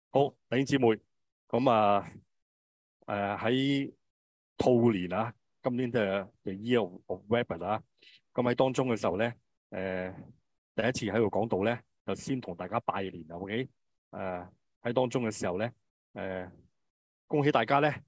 好，弟兄姊妹，咁喺兔年啊，今年嘅 The Year of Rabbit 啊，咁喺當中嘅時候咧，第一次喺度講道咧，就先同大家拜年啊，OK？喺當中嘅時候咧，恭喜大家咧，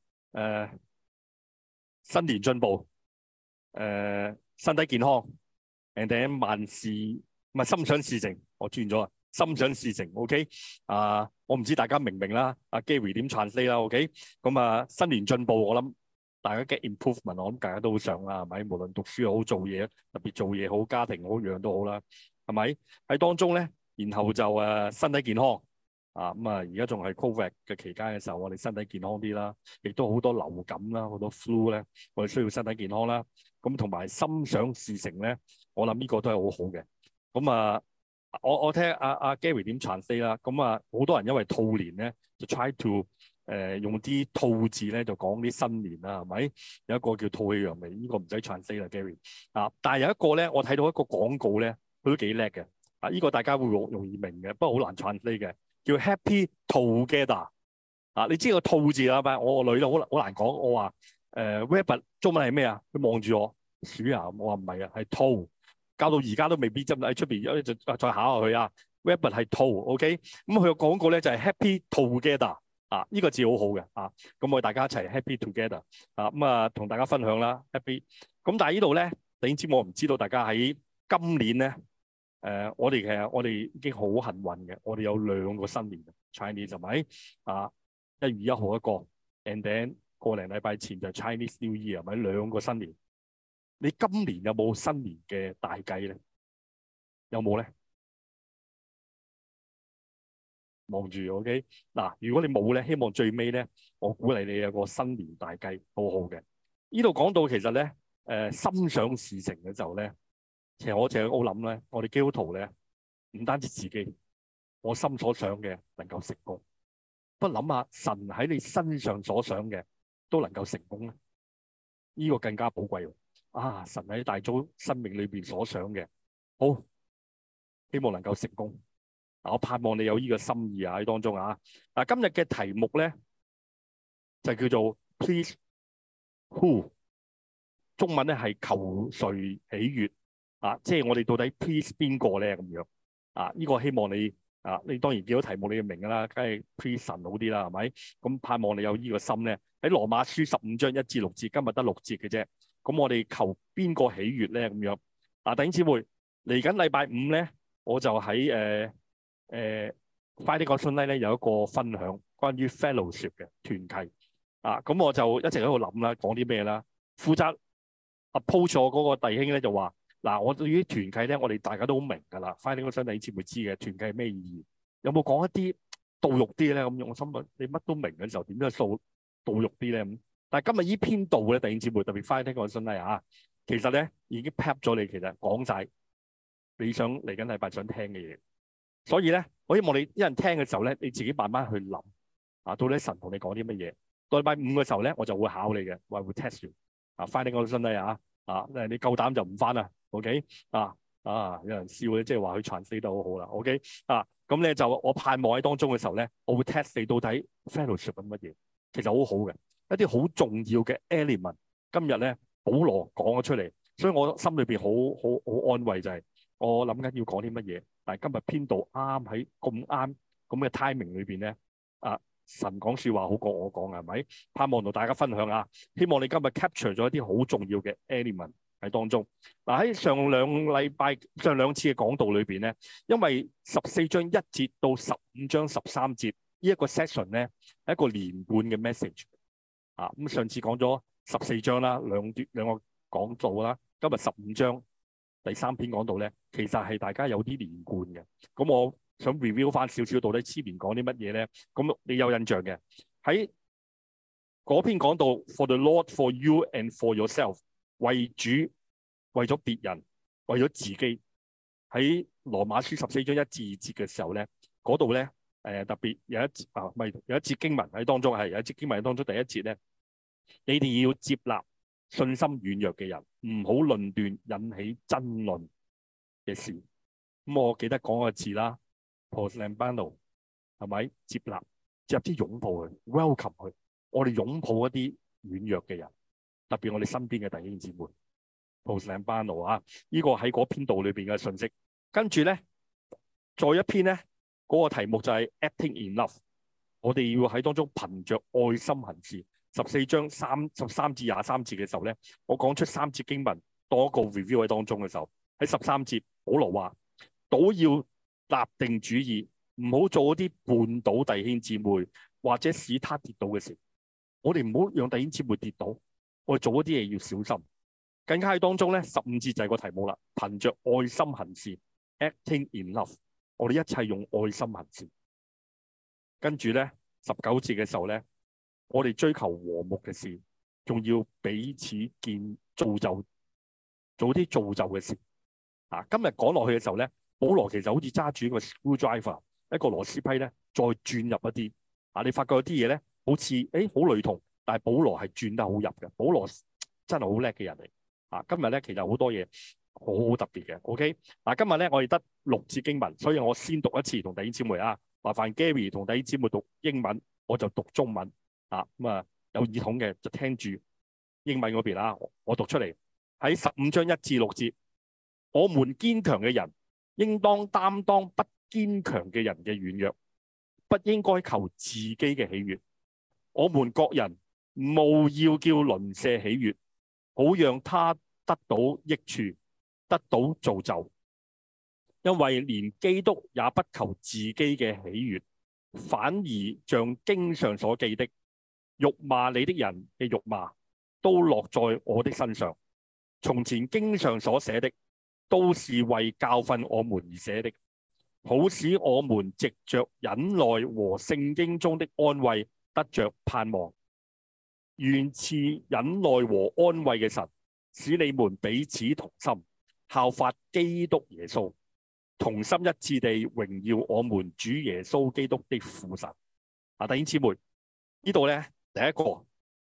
新年進步，身體健康，and then 萬事唔係心想事成，我轉咗啊，心想事成，OK？我唔知大家明唔明啦，阿 Gary 點 translate 啦，OK？咁新年進步，我諗大家 get improvement，我諗大家都好想啦，係咪？無論讀書又好，做嘢，特別做嘢好，家庭好，樣都好啦，係咪？喺當中咧，然後就身體健康。而家仲係 Covid 嘅期間嘅時候，我哋身體健康啲啦，亦都好多流感啦，好多 flu 咧，我哋需要身體健康啦。咁同埋心想事成咧，我諗呢個都係好好嘅。我聽阿 Gary 點 translate 啦。好多人因為兔年咧，就 try to 用啲兔字咧，就講啲新年啦，係咪？有一個叫吐氣揚眉，呢個唔使 translate 啦，Gary。但係有一個咧，我睇到一個廣告咧，佢都幾叻嘅。呢個大家會容易明嘅，不過好難 translate 嘅。叫 Happy Together 你知個兔字啦，係咪？我個女咧好難講，我話Rabbit 中文係咩啊？佢望住我鼠啊，我話唔係啊，係兔，教到而家都未必真喺出邊，就再考下佢啊。Rabbit 係兔 ，OK？咁佢個廣告咧就係 Happy Together 呢個字好好嘅咁我哋大家一齊 Happy Together 同大家分享啦 Happy。咁但係呢度咧，你知我唔知道大家喺今年咧。我哋已經好幸運嘅，我哋有2個新年 Chinese 係咪？1月1號一個 ，and then 個零禮拜前就 Chinese New Year 係咪？2個新年。你今年有冇新年嘅大計咧？有冇咧？望住 OK 嗱，如果你冇咧，希望最尾咧，我鼓勵你有個新年大計，好好嘅。呢度講到其實咧，心想事成嘅時候咧。其實我淨係好諗咧，我哋基督徒咧，唔單止自己，我心所想嘅能夠成功，不過諗下神喺你身上所想嘅都能夠成功咧，呢個更加寶貴喎。神喺大組生命裏邊所想嘅，好希望能夠成功。我盼望你有呢個心意喺當中今日嘅題目咧就叫做 Please Who， 中文咧係求誰喜悅。即係我哋到底 please 邊個咧咁樣呢個希望你當然見到題目你就明㗎啦，梗係 please 神好啲啦，係咪？咁盼望你有呢個心咧。喺羅馬書15章1至6節，今日得6節嘅啫。咁我哋求邊個喜悅咧咁樣弟兄姊妹，嚟緊禮拜5咧，我就喺快啲講信咧有一個分享關於 fellowship 嘅團契咁我就一直喺度諗啦，講啲咩啦？負責 approach 我嗰個弟兄咧就話。我對於團契咧，我哋大家都好明㗎啦。翻呢個身體先會知嘅團契係咩意義。有冇講一啲道肉啲咧？咁樣我心諗你乜都明嘅時候，點樣道肉啲咧？咁但係今日呢篇道咧，弟兄姊妹特別翻聽個身體其實咧已經 pap 咗你，其實講晒你想嚟緊禮拜想聽嘅嘢。所以咧，我希望你一人聽嘅時候咧，你自己慢慢去諗到底神同你講啲乜嘢。到禮拜5嘅時候咧，我就會考你嘅，我會 test you 翻聽個身體你夠膽就唔翻啦。OK 有人笑咧，即係話佢 translate 得好好啦。OK 咁咧就我盼望喺當中嘅時候咧，我會 test 你到底 fellowship 係乜嘢，其實好好嘅一啲好重要嘅 element。今日咧保羅講咗出嚟，所以我心裏邊好安慰就係我諗緊要講啲乜嘢，但係今日編導啱喺咁啱咁嘅 timing 裏邊咧神講説話好過我講係咪？盼望同大家分享希望你今日 capture 咗一啲好重要嘅 element 喺當中。喺上兩次嘅講道裏邊咧，因為14章1節到15章13節呢一個 section 咧係一個連貫嘅 message 咁上次講咗14章啦，兩個講道啦，今日15章第3篇講道咧，其實係大家有啲連貫嘅。咁我想 review 翻少少，到底前面講啲乜嘢咧？咁你有印象嘅喺嗰篇講到 For the Lord, for you and for yourself， 為主、為咗別人、為咗自己。喺羅馬書14章1至2節嘅時候咧，嗰度咧特別有一節經文喺當中，係有一節經文喺當中第一節咧，你哋要接納信心軟弱嘅人，唔好論斷引起爭論嘅事。咁我記得講個字啦。Proslambano 係咪接納接啲擁抱佢，welcome 佢。我哋擁抱一啲軟弱嘅人，特別我哋身邊嘅弟兄姊妹。Post 領班路啊，呢個喺嗰篇道裏邊嘅信息。跟住咧，再一篇咧，嗰個題目就係 Acting in Love。我哋要喺當中憑着愛心行事。14章13至23節嘅時候咧，我講出3節經文，多個 review 喺當中嘅時候，喺13節，保羅話：倒要立定主意，唔好做嗰啲絆倒弟兄姊妹或者使他跌倒嘅事。我哋唔好讓弟兄姊妹跌倒，我哋做嗰啲嘢要小心。更加喺當中咧，15節就係個題目啦，憑着愛心行事 ，acting in love。我哋一切用愛心行事。跟住咧，19節嘅時候咧，我哋追求和睦嘅事，仲要彼此造就，做啲造就嘅事。啊，今日講落去嘅時候咧，保羅其實好似揸住一個 screwdriver，一個螺絲批咧，再轉入一啲。啊，你發覺有啲嘢咧，好似好雷同，但係保羅係轉得好入嘅。保羅真係好叻嘅人嚟。啊，今日咧其實好多嘢好特別嘅。OK，嗱，今日咧我哋得6節經文，所以我先讀一次同弟兄姊妹啊。麻煩 Gary 同弟兄姊妹讀英文，我就讀中文。啊，咁啊有耳筒嘅就聽住英文嗰邊啊。我讀出嚟喺15章1至6節，我們堅強嘅人應當擔當不堅強嘅人嘅軟弱，不應該求自己嘅喜悅。我們各人務要叫鄰舍喜悅，好讓他得到益處，得到造就。因為連基督也不求自己嘅喜悅，反而像經上所記的，辱罵你的人嘅辱罵都落在我的身上。從前經上所寫的，都是為教訓我們而寫的，好使我們藉着忍耐和聖經中的安慰得着盼望。願賜忍耐和安慰嘅神，使你們彼此同心，效法基督耶穌，同心一致地榮耀我們主耶穌基督的父神。啊，弟兄姊妹，呢度咧第一個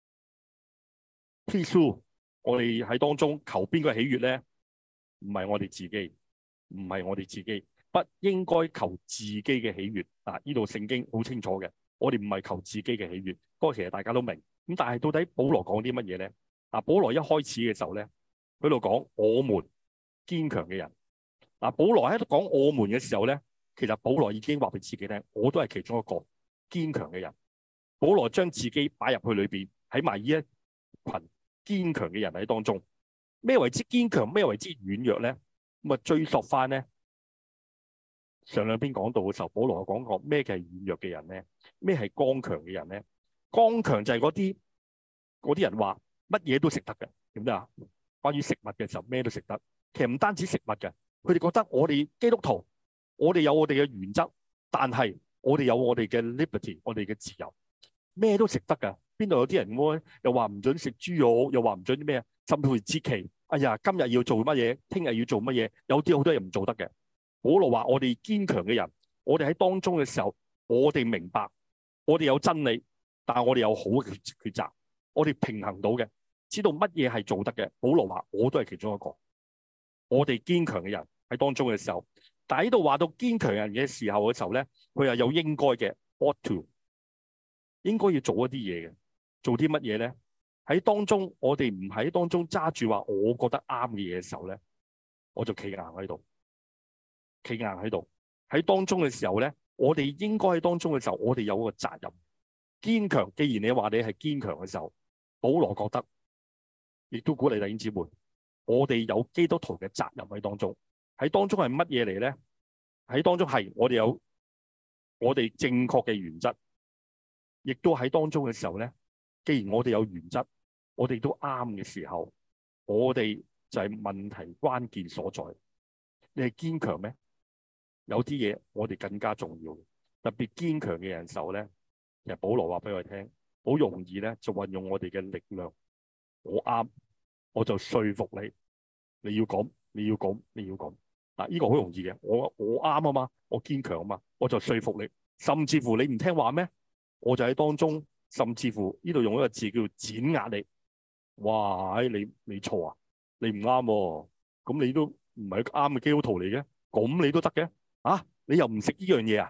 Please， 我哋喺當中求邊個喜悅咧？唔係我哋自己，唔係我哋自己，不應該求自己嘅喜悅。啊，呢度聖經好清楚嘅，我哋唔係求自己嘅喜悅。不過其實大家都明。咁但係到底保羅講啲乜嘢咧？啊，保羅一開始嘅時候咧，佢度講我們堅強嘅人。啊，保羅喺度講我們嘅時候咧，其實保羅已經話俾自己聽，我都係其中一個堅強嘅人。保羅將自己擺入去裏邊，喺埋呢一群堅強嘅人喺當中。咩為之堅強？咩為之軟弱咧？咁啊追溯翻咧，上兩篇講到嘅時候，保羅講過咩嘅係軟弱嘅人咧？咩係剛強嘅人咧？剛強就係嗰啲人話乜嘢都食得嘅，點解啊？關於食物嘅時候，咩都食得。其實唔單止食物嘅，佢哋覺得我哋基督徒，我哋有我哋嘅原則，但係我哋有我哋嘅 liberty， 我哋嘅自由，咩都食得㗎。邊度有啲人又話唔准食豬肉，又話唔准啲咩，甚至乎節期，哎呀，今日要做乜嘢，聽日要做乜嘢，有啲好多嘢唔做得嘅。保羅話我哋堅強嘅人，我哋喺當中嘅時候，我哋明白，我哋有真理。但係我哋有好嘅抉擇，我哋平衡到嘅，知道乜嘢係做得嘅。保羅話我都係其中一個，我哋堅強嘅人喺當中嘅時候，但係呢度話到堅強人嘅時候嘅時候咧，佢又有應該嘅 ought to， 應該要做一啲嘢嘅，做啲乜嘢咧？喺當中我哋唔喺當中揸住話我覺得啱嘅嘢嘅時候咧，我就企硬喺度，企硬喺度。喺當中嘅時候咧，我哋應該喺當中嘅時候，我哋有個責任。堅強，既然你話你係堅強嘅時候，保羅覺得，亦都鼓勵弟兄姊妹，我哋有基督徒嘅責任喺當中。喺當中係乜嘢嚟咧？喺當中係我哋有我哋正確嘅原則，亦都喺當中嘅時候咧。既然我哋有原則，我哋都啱嘅時候，我哋就係問題關鍵所在。你係堅強咩？有啲嘢我哋更加重要，特別堅強嘅人時候咧。其實保羅話俾我哋聽，好容易咧就運用我哋嘅力量。我啱，我就說服你，你要咁，你要咁，你要咁。嗱，呢個好容易嘅。我啱啊嘛，我堅強啊嘛，我就說服你。甚至乎你唔聽話咩？我就喺當中，甚至乎呢度用一個字叫碾壓你。哇！你錯啊，你唔啱喎，咁你都唔係啱嘅基督徒嚟嘅，咁你都得嘅啊？你又唔食呢樣嘢啊？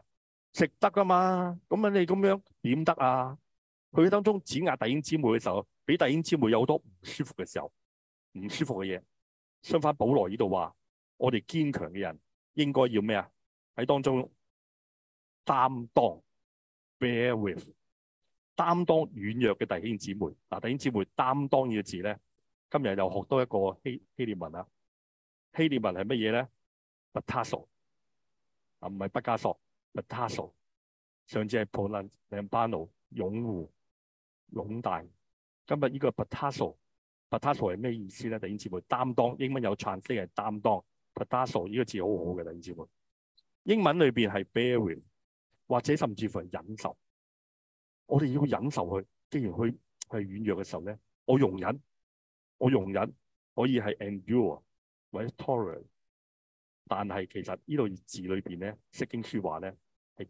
食得噶嘛？咁啊，你咁樣點得啊？佢當中指壓弟兄姊妹嘅時候，俾弟兄姊妹有好多唔舒服嘅時候，唔舒服嘅嘢。相反，保羅呢度話，我哋堅強嘅人應該要咩啊？喺當中擔當 ，bear with，擔當軟弱嘅弟兄姊妹。嗱，弟兄姊妹擔當呢個字咧，今日又學多一個希臘文啊。希臘文係乜嘢咧？batasso 啊，唔係畢加索 ，batasso。上次係 polambano 擁護、擁戴。今日呢個 batasso 係咩意思咧？弟兄姊妹，擔當，英文有 translate 係擔當 batasso 呢個字好好嘅，弟兄姊妹。英文裏邊係 bear with， 或者甚至乎係忍受。我哋要忍受佢，既然佢係軟弱嘅時候咧，我容忍可以係 endure 或者 tolerate， 但係其實呢度字裏邊咧，釋經書話咧係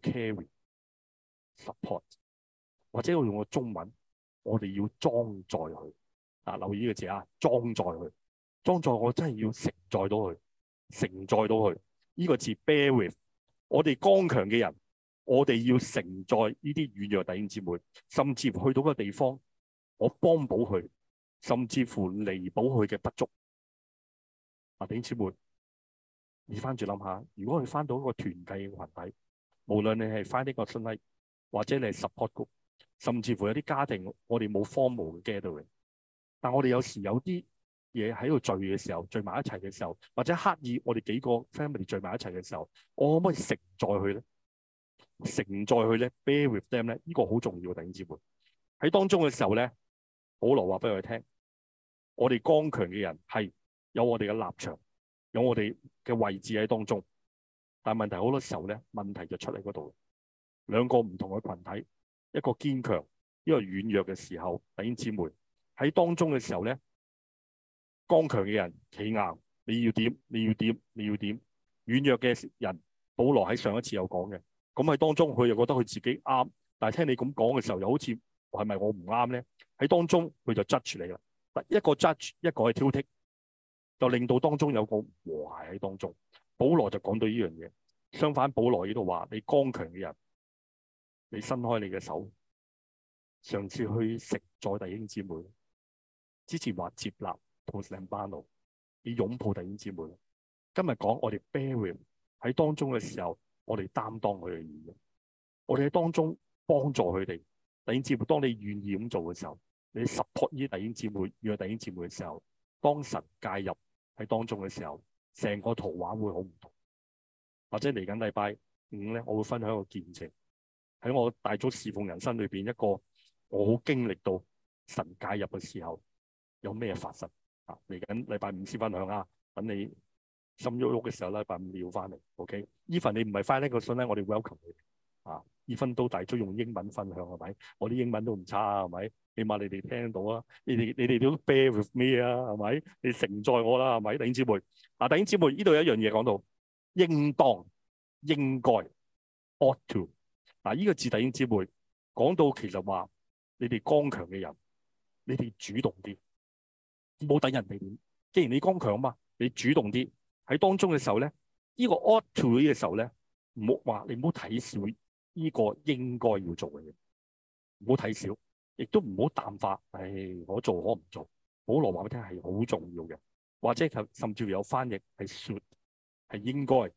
carry、support， 或者我用個中文，我哋要裝載佢。嗱，留意呢個字啊，裝載佢，裝載我真係要承載到佢，承載到佢。呢個字 bear with， 我哋剛強嘅人，我哋要承載呢啲軟弱弟兄姊妹，甚至乎去到個地方，我幫補佢，甚至乎彌補佢嘅不足。弟兄姊妹，你翻住諗下，如果你翻到一個團契嘅群體，無論你係翻呢個信禮，或者你係 support group， 甚至乎有啲家庭，我哋冇 formal 嘅 gathering， 但我哋有時有啲嘢喺度聚嘅時候，聚埋一齊嘅時候，或者刻意我哋幾個 family 聚埋一齊嘅時候，我可唔可以承載佢咧？承載佢咧 ，bear with them 咧，呢個好重要嘅。弟兄姊妹喺當中嘅時候咧，保羅話俾佢聽，我哋剛強嘅人係有我哋嘅立場，有我哋嘅位置喺當中，但係問題好多時候咧，問題就出喺嗰度。兩個唔同嘅群體，一個堅強，一個軟弱嘅時候，弟兄姊妹喺當中嘅時候咧，剛強嘅人企硬，你要點？你要點？你要點？軟弱嘅人，保羅喺上一次有講嘅，咁喺當中佢又覺得佢自己啱，但係聽你咁講嘅時候，又好似係咪我唔啱咧？喺當中佢就 judge 你啦，一個 judge， 一個係挑剔，就令到當中有個和諧喺當中。保羅就講到呢樣嘢，相反保羅呢度話，你剛強嘅人，你伸開你嘅手，嘗試去承載弟兄姊妹。之前話接納同領班路，你擁抱弟兄姊妹。今日講我哋 bear with 喺當中嘅時候，我哋擔當佢嘅義，我哋喺當中幫助佢哋。弟兄姊妹，當你願意咁做嘅時候，你 support 呢啲弟兄姊妹，與弟兄姊妹嘅時候，當神介入喺當中嘅時候，成個圖畫會好唔同。或者嚟緊禮拜五咧，我會分享一個見證，喺我大組侍奉人生裏邊一個我好經歷到神介入嘅時候有咩發生啊？嚟緊禮拜五先分享啊，等你心喐喐嘅時候咧，禮拜五你要翻嚟 ，OK？ 呢份你唔係翻呢個信咧，我哋 welcome 你啊！呢份都大組用英文分享係咪？我啲英文都唔差係咪？起碼你哋聽到啊，你哋都 bear with me 啊係咪？你承載我啦係咪？弟兄姊妹啊，弟兄姊妹，呢度有一樣嘢講到應當、應該 ought to 嗱，呢個字弟兄姊妹講到其實話你哋剛強嘅人，你哋主動啲，冇等人哋點。既然你剛強嘛，你主動啲喺當中嘅時候咧，呢個 ought to 嘅時候咧，唔好話你唔好睇小呢個應該要做嘅嘢，唔好睇小，亦都唔好淡化。我做可唔做？保羅話俾你聽係好重要嘅，或者甚至乎有翻譯係 should 係應該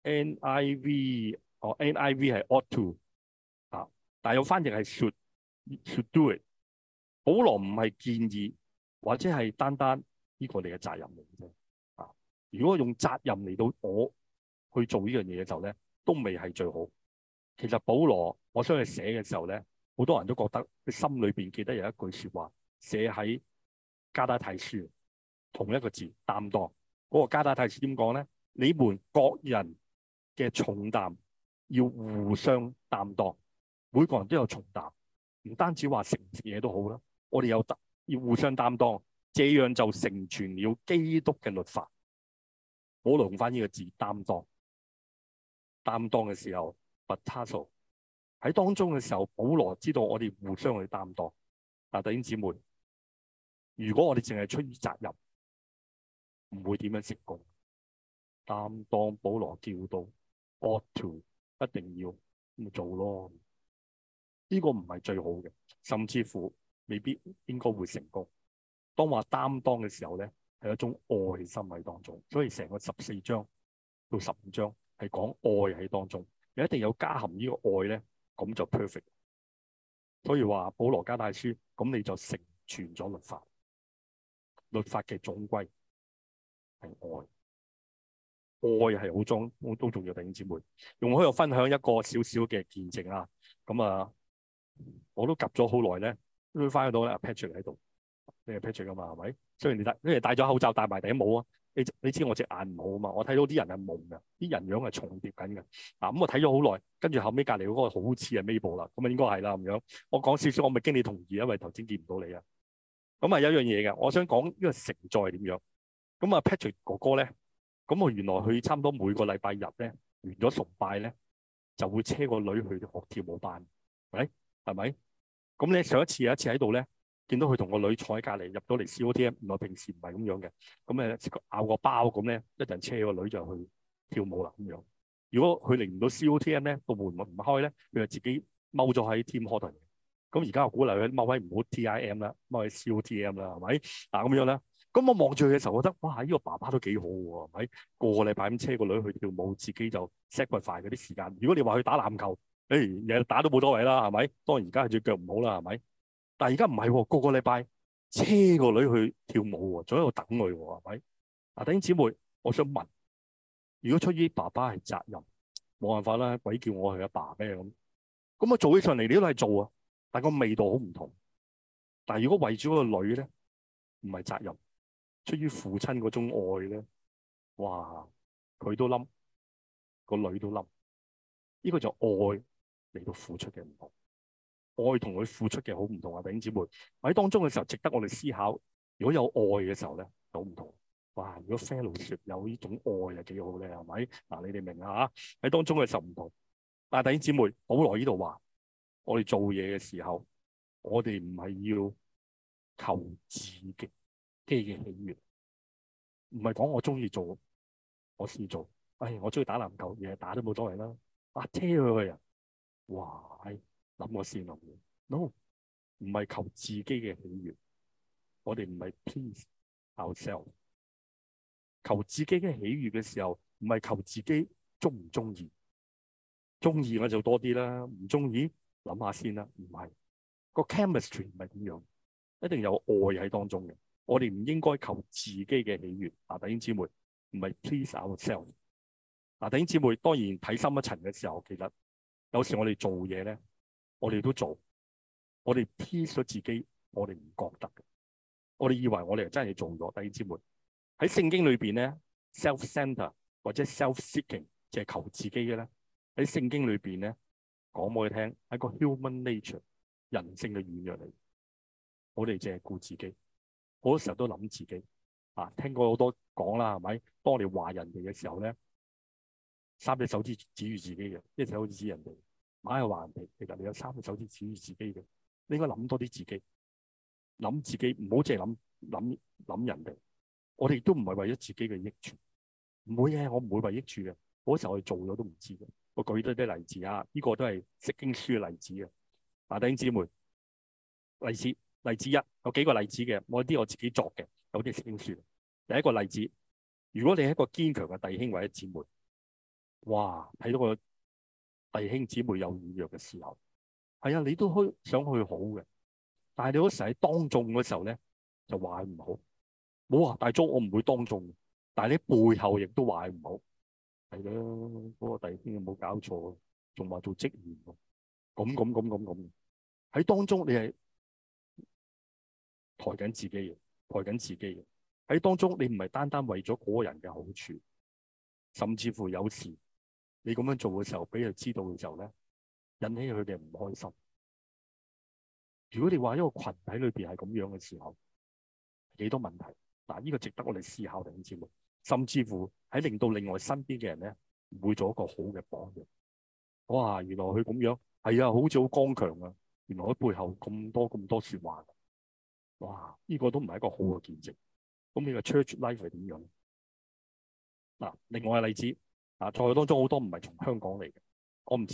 NIV 哦 NIV 係 ought to 啊，但係有翻譯係 should do it。保羅唔係建議或者係單單呢個你嘅責任嚟嘅啫啊！如果用責任嚟到我去做呢樣嘢嘅時候咧，都未係最好。其實保羅我相信寫嘅時候咧，好多人都覺得佢心裏邊記得有一句説話，寫喺加拉太書同一個字擔當。嗰個加拉太書點講咧？你們各人嘅重擔要互相擔當，每個人都有重擔，唔單止話食唔食嘢都好啦。我哋有要互相擔當，這樣就成全了基督嘅律法。保羅用翻呢個字擔當，擔當嘅時候 batasso 喺當中嘅時候，保羅知道我哋互相去擔當。弟兄姊妹，如果我哋淨係出於責任，唔會點樣成功。擔當保羅叫到 ought to 一定要咪做咯。呢個唔係最好嘅，甚至乎未必應該會成功。當話擔當嘅時候咧，係一種愛心喺當中，所以成個14章到15章係講愛喺當中，你一定有加含呢個愛咧，咁就 perfect。所以話保羅加太書，咁你就成全咗律法。律法嘅總歸係愛，愛係好都重要。弟兄姊妹，容許我分享一個少少嘅見證啦。咁啊，我都及咗好耐咧，都翻到咧 Patrick 喺度。你係 Patrick 㗎嘛？係咪？雖然你戴咗口罩，戴埋頂帽啊，你知我隻眼唔好啊嘛。我睇到啲人係矇㗎，啲人樣係重疊緊嘅。咁我睇咗好耐，跟住後尾隔離嗰個好似係 Mabel 啦，咁啊應該係啦咁樣。我講少少，我咪經你同意，因為頭先見唔到你啊。咁啊有一樣嘢嘅，我想講呢個成載係點樣。咁啊 Patrick 哥哥咧，咁我原來佢差唔多每個禮拜日咧完咗崇拜咧，就會車個女去學跳舞班，係咪？咁咧上一次有一次喺度咧。見到佢同個女坐喺隔離入咗嚟 COTM，原來平時唔係咁樣嘅。咁誒咬個包咁咧，一陣車個女就去跳舞啦咁樣。如果佢嚟唔到 COTM 咧，個門唔開咧，佢就自己踎咗喺 Tim Horton。咁而家我鼓勵佢踎喺唔好 TIM 啦，踎喺 COTM 啦，係咪？咁樣咧，咁我望住佢嘅時候，覺得哇，呢個爸爸都幾好喎，係咪？個禮拜咁車個女去跳舞，自己就 sacrifice 嗰啲時間。如果你話去打籃球，日日打都冇所謂啦，係咪？當然而家係隻腳唔好啦，係咪？但係而家唔係喎，個禮拜車個女去跳舞喎，仲喺度等佢喎，係咪？弟兄姊妹，我想問，如果出於爸爸係責任，冇辦法啦，鬼叫我係阿爸咩咁？咁我做起上嚟，你都係做啊，但係個味道好唔同。但係如果為咗個女咧，唔係責任，出於父親嗰種愛咧，哇，佢都冧，個女都冧，呢個就愛嚟到付出嘅唔同。愛同佢付出嘅好唔同啊！弟兄姊妹喺當中嘅時候，值得我哋思考。如果有愛嘅時候咧，好唔同。哇！如果 fellowship 有呢種愛係幾好咧，係咪？你哋明啊？喺當中嘅時候唔同。但係弟兄姊妹，保羅呢度話，我哋做嘢嘅時候，我哋唔係要求自己嘅喜悅，唔係講我中意做，我先做。我中意打籃球，日日打都冇所謂啦。車佢去啊！哇！諗我先諗 ，no， 唔係求自己嘅喜悅，我哋唔係 please ourselves。求自己嘅喜悅嘅時候，唔係求自己中唔中意，中意我就多啲啦，唔中意諗下先啦。唔係個 chemistry 唔係咁樣，一定有愛喺當中嘅。我哋唔應該求自己嘅喜悅。弟兄姊妹，唔係 please ourselves。弟兄姊妹，當然睇深一層嘅時候，其實有時我哋做嘢咧。我哋都做，我哋 please 咗自己，我哋唔覺得嘅，我哋以為我哋真係做咗。弟兄姊妹喺聖經裏邊咧 ，self-centered 或者 self-seeking 就係求自己嘅咧。喺聖經裏邊咧講俾你聽，係個 human nature 人性嘅軟弱嚟。我哋淨係顧自己，好多時候都諗自己。聽過好多講啦，係咪？當我哋話人哋嘅時候咧，3隻手指指住自己嘅，一隻手指指人哋。硬係話人哋，其實你有3隻手指指住自己嘅，你應該諗多啲自己，諗自己，唔好淨係諗人哋。我哋都唔係為咗自己嘅益處，唔會嘅，我唔會為益處嘅。嗰時候我哋做咗都唔知嘅。我舉多啲例子啊，呢個都係釋經書嘅例子嘅。弟兄姊妹，例子一有幾個例子嘅，我啲我自己作嘅，有啲釋經書。第一個例子，如果你係一個堅強嘅弟兄或者姊妹，哇，睇到個弟兄姊妹有軟弱嘅時候，你都想去好嘅，但係你嗰時喺當眾嘅時候咧，就話佢唔好。冇話大眾，我唔會當眾，但係你背後亦都話佢唔好。係啦，嗰個弟兄有冇搞錯？仲話做職員咁，喺當中你係抬緊自己嘅，抬緊自己嘅。喺當中你唔係單單為咗嗰個人嘅好處，甚至乎有時你咁樣做嘅時候，俾佢知道嘅時候咧，引起佢哋唔開心。如果你話一個群體裏邊係咁樣嘅時候，幾多問題？呢個值得我哋思考嘅節目，甚至乎喺令到另外身邊嘅人咧，唔會做一個好嘅榜樣。哇！原來佢咁樣好似好剛強啊！原來佢背後咁多説話。哇！呢個都唔係一個好嘅見證。咁你個 church life 係點樣？另外嘅例子在當中好多唔係從香港嚟嘅，我唔知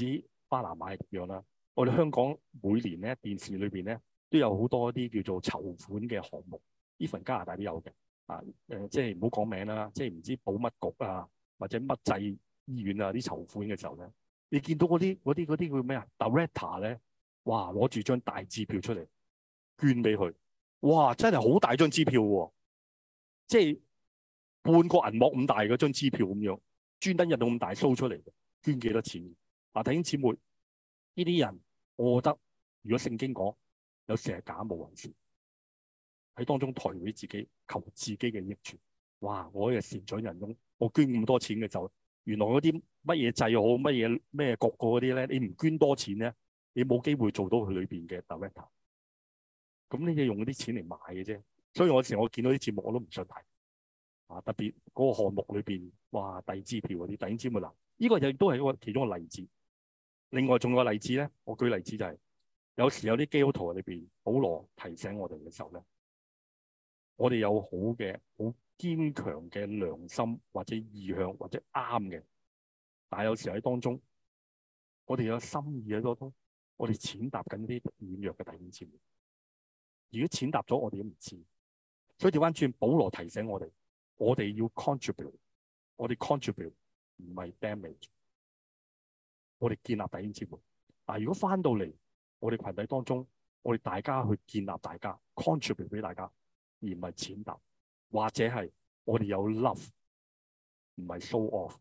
巴拿馬係點樣啦。我哋香港每年咧電視裏邊咧都有好多啲叫做籌款嘅項目，even加拿大都有嘅。即係唔好講名啦，即係唔知保乜局啊，或者乜濟醫院啊啲籌款嘅時候咧，你見到嗰啲叫咩啊 director 咧，哇攞住張大支票出嚟捐俾佢，哇真係好大張支票喎，即係半個銀幕咁大嗰張支票咁樣，專登印到咁大 show 出嚟嘅，捐幾多錢？弟兄姊妹，呢啲人我覺得如果聖經講有時係假冒為善，喺當中抬舉自己，求自己嘅益處。哇！我係善長仁翁，我捐咁多錢嘅時候，原來嗰啲乜嘢制好，乜嘢咩國嗰啲咧，你唔捐多錢咧，你冇機會做到佢裏邊嘅 director。咁你就用嗰啲錢嚟買嘅啫。所以我有時我見到啲節目我都唔想睇。特別嗰個項目裏邊，哇遞支票嗰啲，弟兄姊妹嗱，呢個亦都係一個其中一個例子。另外仲有個例子咧，我舉例子就係有時有啲基督徒裏邊，保羅提醒我哋嘅時候咧，我哋有好嘅、好堅強嘅良心或者意向或者啱嘅，但係有時喺當中，我哋有心意喺當中，我哋踐踏緊啲軟弱嘅弟兄姊妹。如果踐踏咗，我哋都唔知。所以調翻轉，保羅提醒我哋，我哋要 contribute， 我哋 contribute 唔係 damage， 我哋建立弟兄姊妹。但係如果翻到嚟我哋群體當中，我哋大家去建立大家 contribute 俾大家，而唔係踐踏，或者係我哋有 love， 唔係 show off。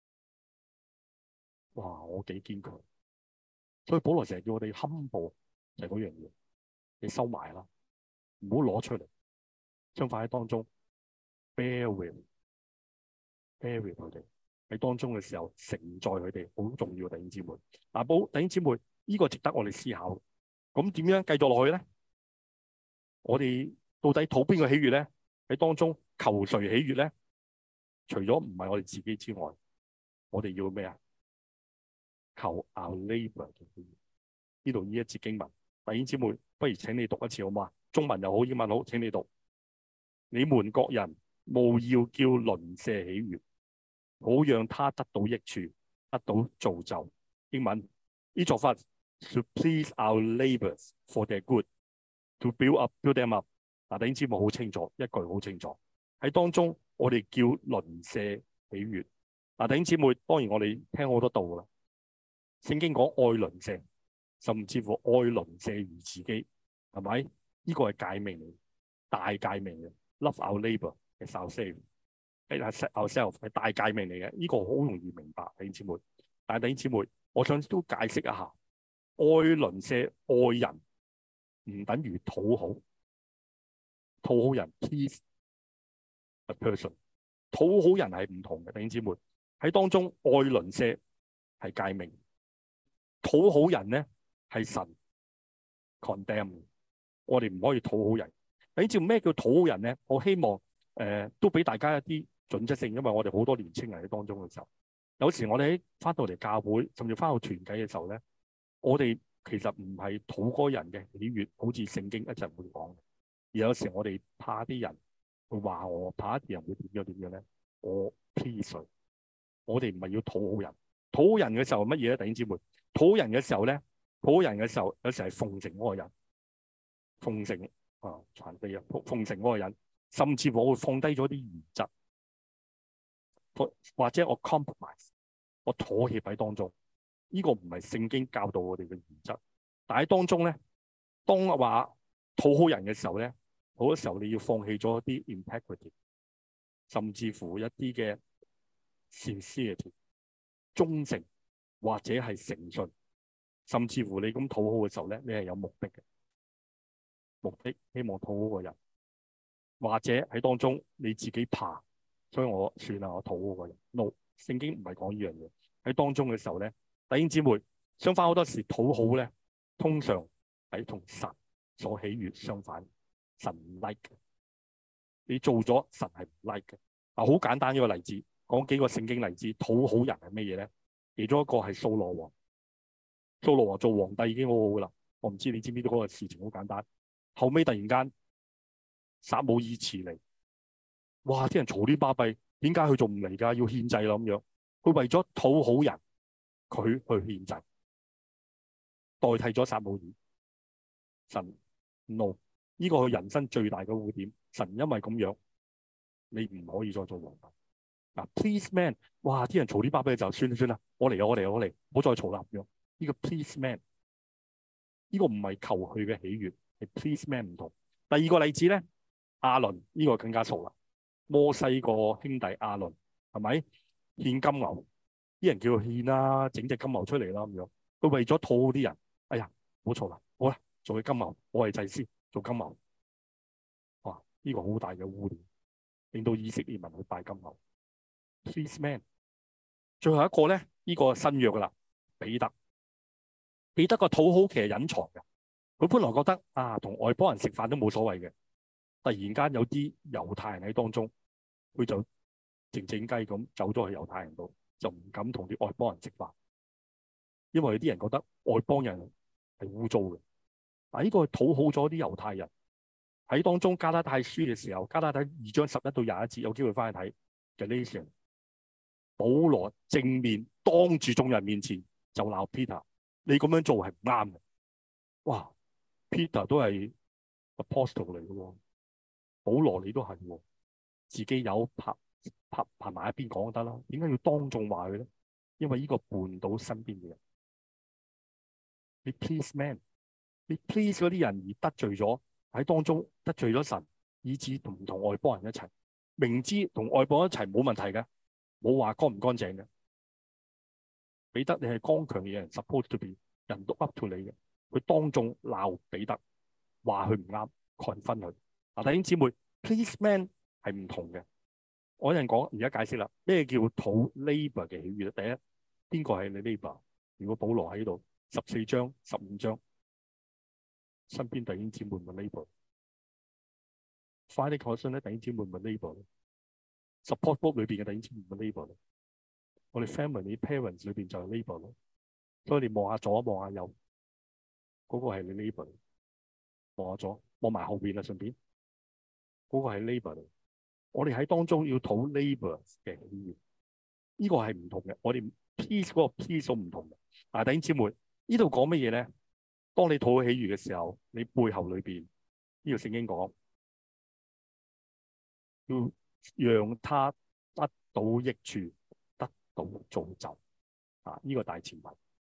哇！我幾堅強，所以保羅成日叫我哋 humble， 就係嗰樣嘢，你收埋啦，唔好攞出嚟。相反喺當中 bear with 佢哋喺當中嘅時候，承載佢哋好重要嘅弟兄姊妹。弟兄姊妹，呢個值得我哋思考。咁點樣繼續落去咧？我哋到底討邊個喜悅咧？喺當中求誰喜悅咧？除咗唔係我哋自己之外，我哋要咩啊？求 our neighbor 嘅喜悅。呢度呢一節經文，弟兄姊妹，不如請你讀一次好嘛？中文又好，英文好，請你讀。你們各人務要叫鄰舍喜悅，好讓他得到益處，得到造就。英文呢作法 to please our neighbors for their good, to build them up。弟兄姊妹好清楚，一句好清楚喺當中，我哋叫鄰舍喜悅。弟兄姊妹，當然我哋聽好多道啦。聖經講愛鄰舍，甚至乎愛鄰舍如自己，係咪？呢個係誡命嚟，大誡命嘅。Love our neighbor as ourselves， 係大誡命嚟嘅。呢個好容易明白，弟兄姊妹。但係弟兄姊妹，我想都解釋一下，愛鄰舍、愛人唔等於討好，討好人 please a person， 討好人係唔同嘅。弟兄姊妹喺當中，愛鄰舍係誡命，討好人咧係神 condemn。我哋唔可以討好人。你知咩叫討好人咧？我希望都俾大家一啲準則性，因為我哋好多年青人喺當中嘅時候，有時我哋喺翻到嚟教會，甚至翻到團契嘅時候咧，我哋其實唔係討嗰人嘅喜悅，好似聖經一陣會講。而有時我哋怕啲人會話我，怕一啲人會點樣咧？我 please 我哋唔係要討好人。討好人嘅時候乜嘢咧？弟兄姊妹，討好人嘅時候咧，討好人嘅時候有時係奉承嗰個人，奉承。殘廢啊！奉承嗰個人，甚至我會放低咗啲原則，或者我 compromise， 我妥協喺當中。呢個唔係聖經教導我哋嘅原則，但喺當中咧，當話討好人嘅時候咧，好多時候你要放棄咗一啲 integrity， 甚至乎一啲嘅 sincerity 忠誠，或者係誠信，甚至乎你咁討好嘅時候咧，你係有目的嘅。目的希望討好個人，或者喺當中你自己怕，所以我算啦，我討好個人。No， 聖經唔係講呢樣嘢。喺當中嘅時候咧，弟兄姊妹，相反好多時討好咧，通常係同神所喜悅相反，神唔 like 嘅。你做咗神係唔 like 嘅。好簡單一個例子，講幾個聖經例子，討好人係咩嘢咧？其中一個係掃羅王，掃羅王做皇帝已經好好噶啦。我唔知你知唔知道嗰個事情好簡單。後尾突然間撒母耳遲嚟，哇！啲人嘈啲巴閉，點解佢仲唔嚟㗎？要獻祭啦咁樣。佢為咗討好人，佢去獻祭。 代替咗撒母耳。神 no， 呢個係人生最大嘅污點。神因為咁樣，你唔可以再做皇帝。嗱，please man， 哇！啲人嘈啲巴閉就算啦，我嚟，唔好再嘈啦咁樣。呢個 please man， 呢個唔係求佢嘅喜悅，係 please man 唔同。第二個例子咧，亞倫呢個更加嘈啦。摩西個兄弟亞倫係咪獻金牛？啲人叫佢獻啦，整隻金牛出嚟啦咁樣。佢為咗討好啲人，哎呀，唔好嘈啦，好啦，做佢金牛，我係祭司，做金牛。哇！呢個好大嘅污點，令到以色列民去拜金牛。Please man， 最後一個咧，呢個新約噶啦，彼得。彼得個討好其實隱藏嘅，佢本來覺得啊，同外邦人食飯都冇所謂嘅。突然間有啲猶太人喺當中，佢就靜靜雞咁走咗去猶太人度，就唔敢同啲外邦人食飯，因為有啲人覺得外邦人係污糟嘅。嗱，呢個討好咗啲猶太人。喺當中加拉太書嘅時候，加拉太2章11到21節，有機會翻去睇嘅呢段，保羅正面當住眾人面前就鬧 Peter， 你咁樣做係唔啱嘅。哇 Peter 都係 apostle 嚟嘅喎，保羅你都係喎，自己有拍埋一邊講就得啦，點解要當眾話佢咧？因為呢個絆倒身邊嘅人，你 please man， 你 please 嗰啲人而得罪咗，喺當中得罪咗神，以致唔同外邦人一齊，明知同外邦人一齊冇問題嘅，冇話乾唔乾淨嘅。彼得你係剛強嘅人 ，suppose to be 人都 up to 你嘅，佢當眾鬧彼得，話佢唔啱，confront佢。嗱，弟兄姊妹 ，please man 係唔同嘅。我有人講，而家解釋啦，咩叫討 neighbor 嘅喜悅？第一，邊個係你 neighbor？如果保羅喺度，14章、15章，身邊弟兄姊妹問 neighbor。Friday concern 咧，弟兄姊妹問 neighbor。Support group 裏邊嘅弟兄姊妹問 neighbor。我哋 family parents 裏邊就係 neighbor 咯。所以你望下左望下右，嗰個係你 neighbor。望下左，望埋後邊啊，順便嗰個係 neighbor。我哋喺當中要討 neighbor 嘅喜悅，呢個係唔同嘅。我哋 peace 嗰個 peace 都唔同嘅。但係弟兄姊妹，呢度講乜嘢咧？當你討喜悅嘅時候，你背後裏邊呢個聖經講，要讓他得到益處，得到造就啊！呢個大前提，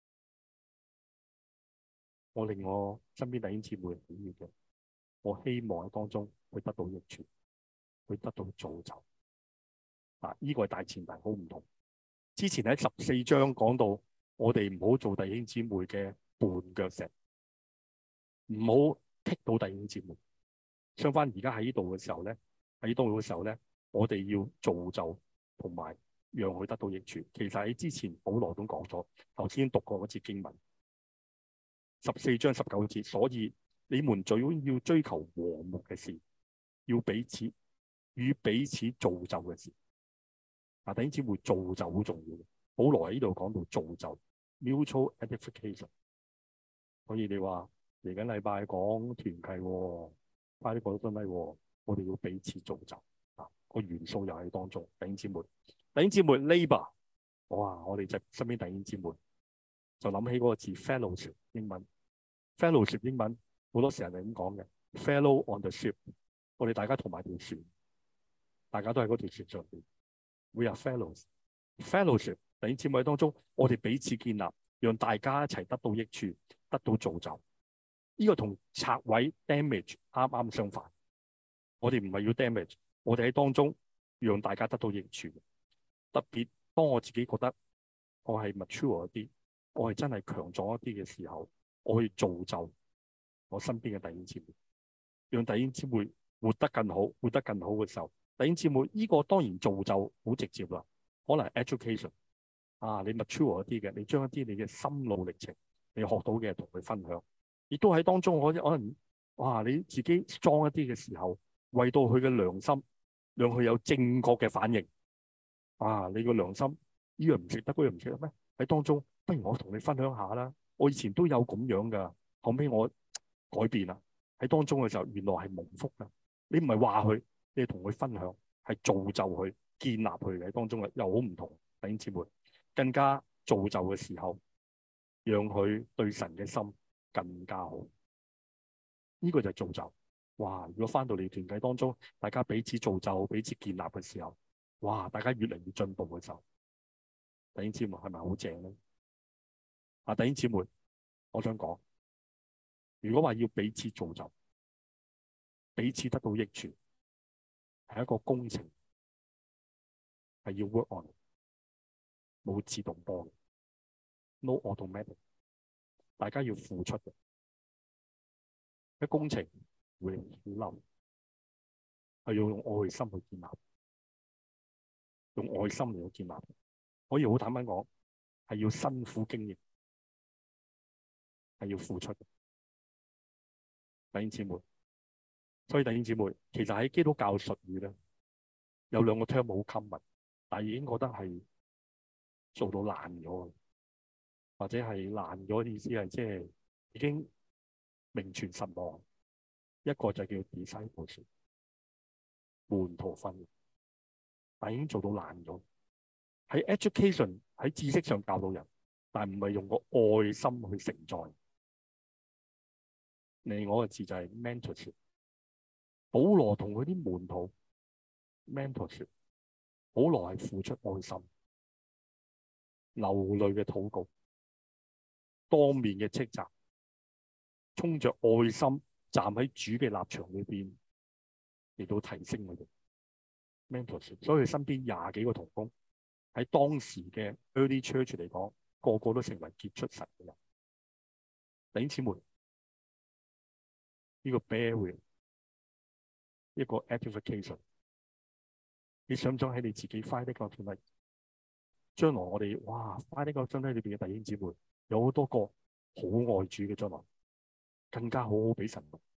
我令我身邊弟兄姊妹喜悅嘅，我希望喺當中會得到益處，會得到造就啊！呢個係大前提，好唔同。之前喺14章講到，我哋唔好做弟兄姊妹嘅絆腳石，唔好棘到弟兄姊妹。相反，而家喺呢度嘅時候咧，我哋要造就同埋讓佢得到益處。其實喺之前保羅都講咗，頭先讀過嗰節經文14章19節，所以你們最要追求和睦嘅事，要彼此造就嘅事。嗱，弟兄姊妹，造就好重要嘅。保羅喺呢度講到造就 mutual edification。所以你話嚟緊禮拜講團契喎，快啲過到真禮喎，我哋要彼此造就啊！個元素又喺當中。弟兄姊妹 labor， 哇！我哋就身邊弟兄姊妹就諗起嗰個字 fellowship 英文 fellowship 英文好多時候係咁講嘅 fellow on the ship。我哋大家同埋條船，大家都喺嗰條船上邊。We are fellowship。弟兄姊妹當中，我哋彼此建立，讓大家一齊得到益處，得到造就。呢個同拆毀 damage 啱啱相反。我哋唔係要 damage，我哋喺當中讓大家得到益處。特別當我自己覺得我係 mature 一啲，我係真係強壯一啲嘅時候，我去造就我身邊嘅弟兄姊妹，讓弟兄姊妹活得更好，活得更好嘅時候，弟兄姊妹呢個當然造就好直接啦。可能 education 啊，你 mature 一啲嘅，你將一啲你嘅心路歷程，你學到嘅同佢分享，亦都喺當中可能哇，你自己 strong 一啲嘅時候，為到佢嘅良心，讓佢有正確嘅反應。啊，你個良心呢樣唔食得，嗰樣唔食得咩？喺當中，不如我同你分享下啦。我以前都有咁樣噶，後尾我改變啦。喺當中嘅時候，原來係蒙福噶。你唔係話佢，你係同佢分享，係造就佢、建立佢嘅。喺當中嘅又好唔同。弟兄姊妹更加造就嘅時候， 讓佢對神嘅心更加好。呢個就係造就。哇！如果翻到嚟團契當中，大家彼此造就、彼此建立嘅時候，哇！大家越嚟越進步嘅時候，弟兄姊妹係咪好正咧？弟兄姊妹，我想講，如果話要彼此造就、彼此得到益處，係一個工程，係要 work on，冇自動波嘅 ，no automatic， 大家要付出嘅。一工程會冧，係要用愛心去建立，用愛心嚟去建立。可以好坦白講，係要辛苦經營，係要付出嘅。弟兄姊妹，所以弟兄姊妹，其實喺基督教術語咧，有兩個 term 好 common，但係已經覺得係做到爛咗，或者係爛咗嘅意思係即係已經名存實亡。一個就叫 discipleship， 門徒訓練，但已經做到爛咗。喺 education 喺知識上教導人，但唔係用個愛心去承載。另外一個字就係 mentorship。保羅同佢啲門徒 mentorship， 保羅係付出愛心、流淚嘅禱告、當面嘅斥責，衝着愛心站喺主嘅立場裏邊嚟到提升佢哋 mentorship。所以佢身邊20幾個同工喺當時嘅 early church 嚟講，個個都成為傑出神嘅人。弟兄姊妹，呢個 bear with 一個 edification， 你想唔想喺你自己 find 呢個團體？將來我哋find 呢個團體裏邊嘅弟兄姊妹有好多個好愛主嘅，將來更加好好俾神用。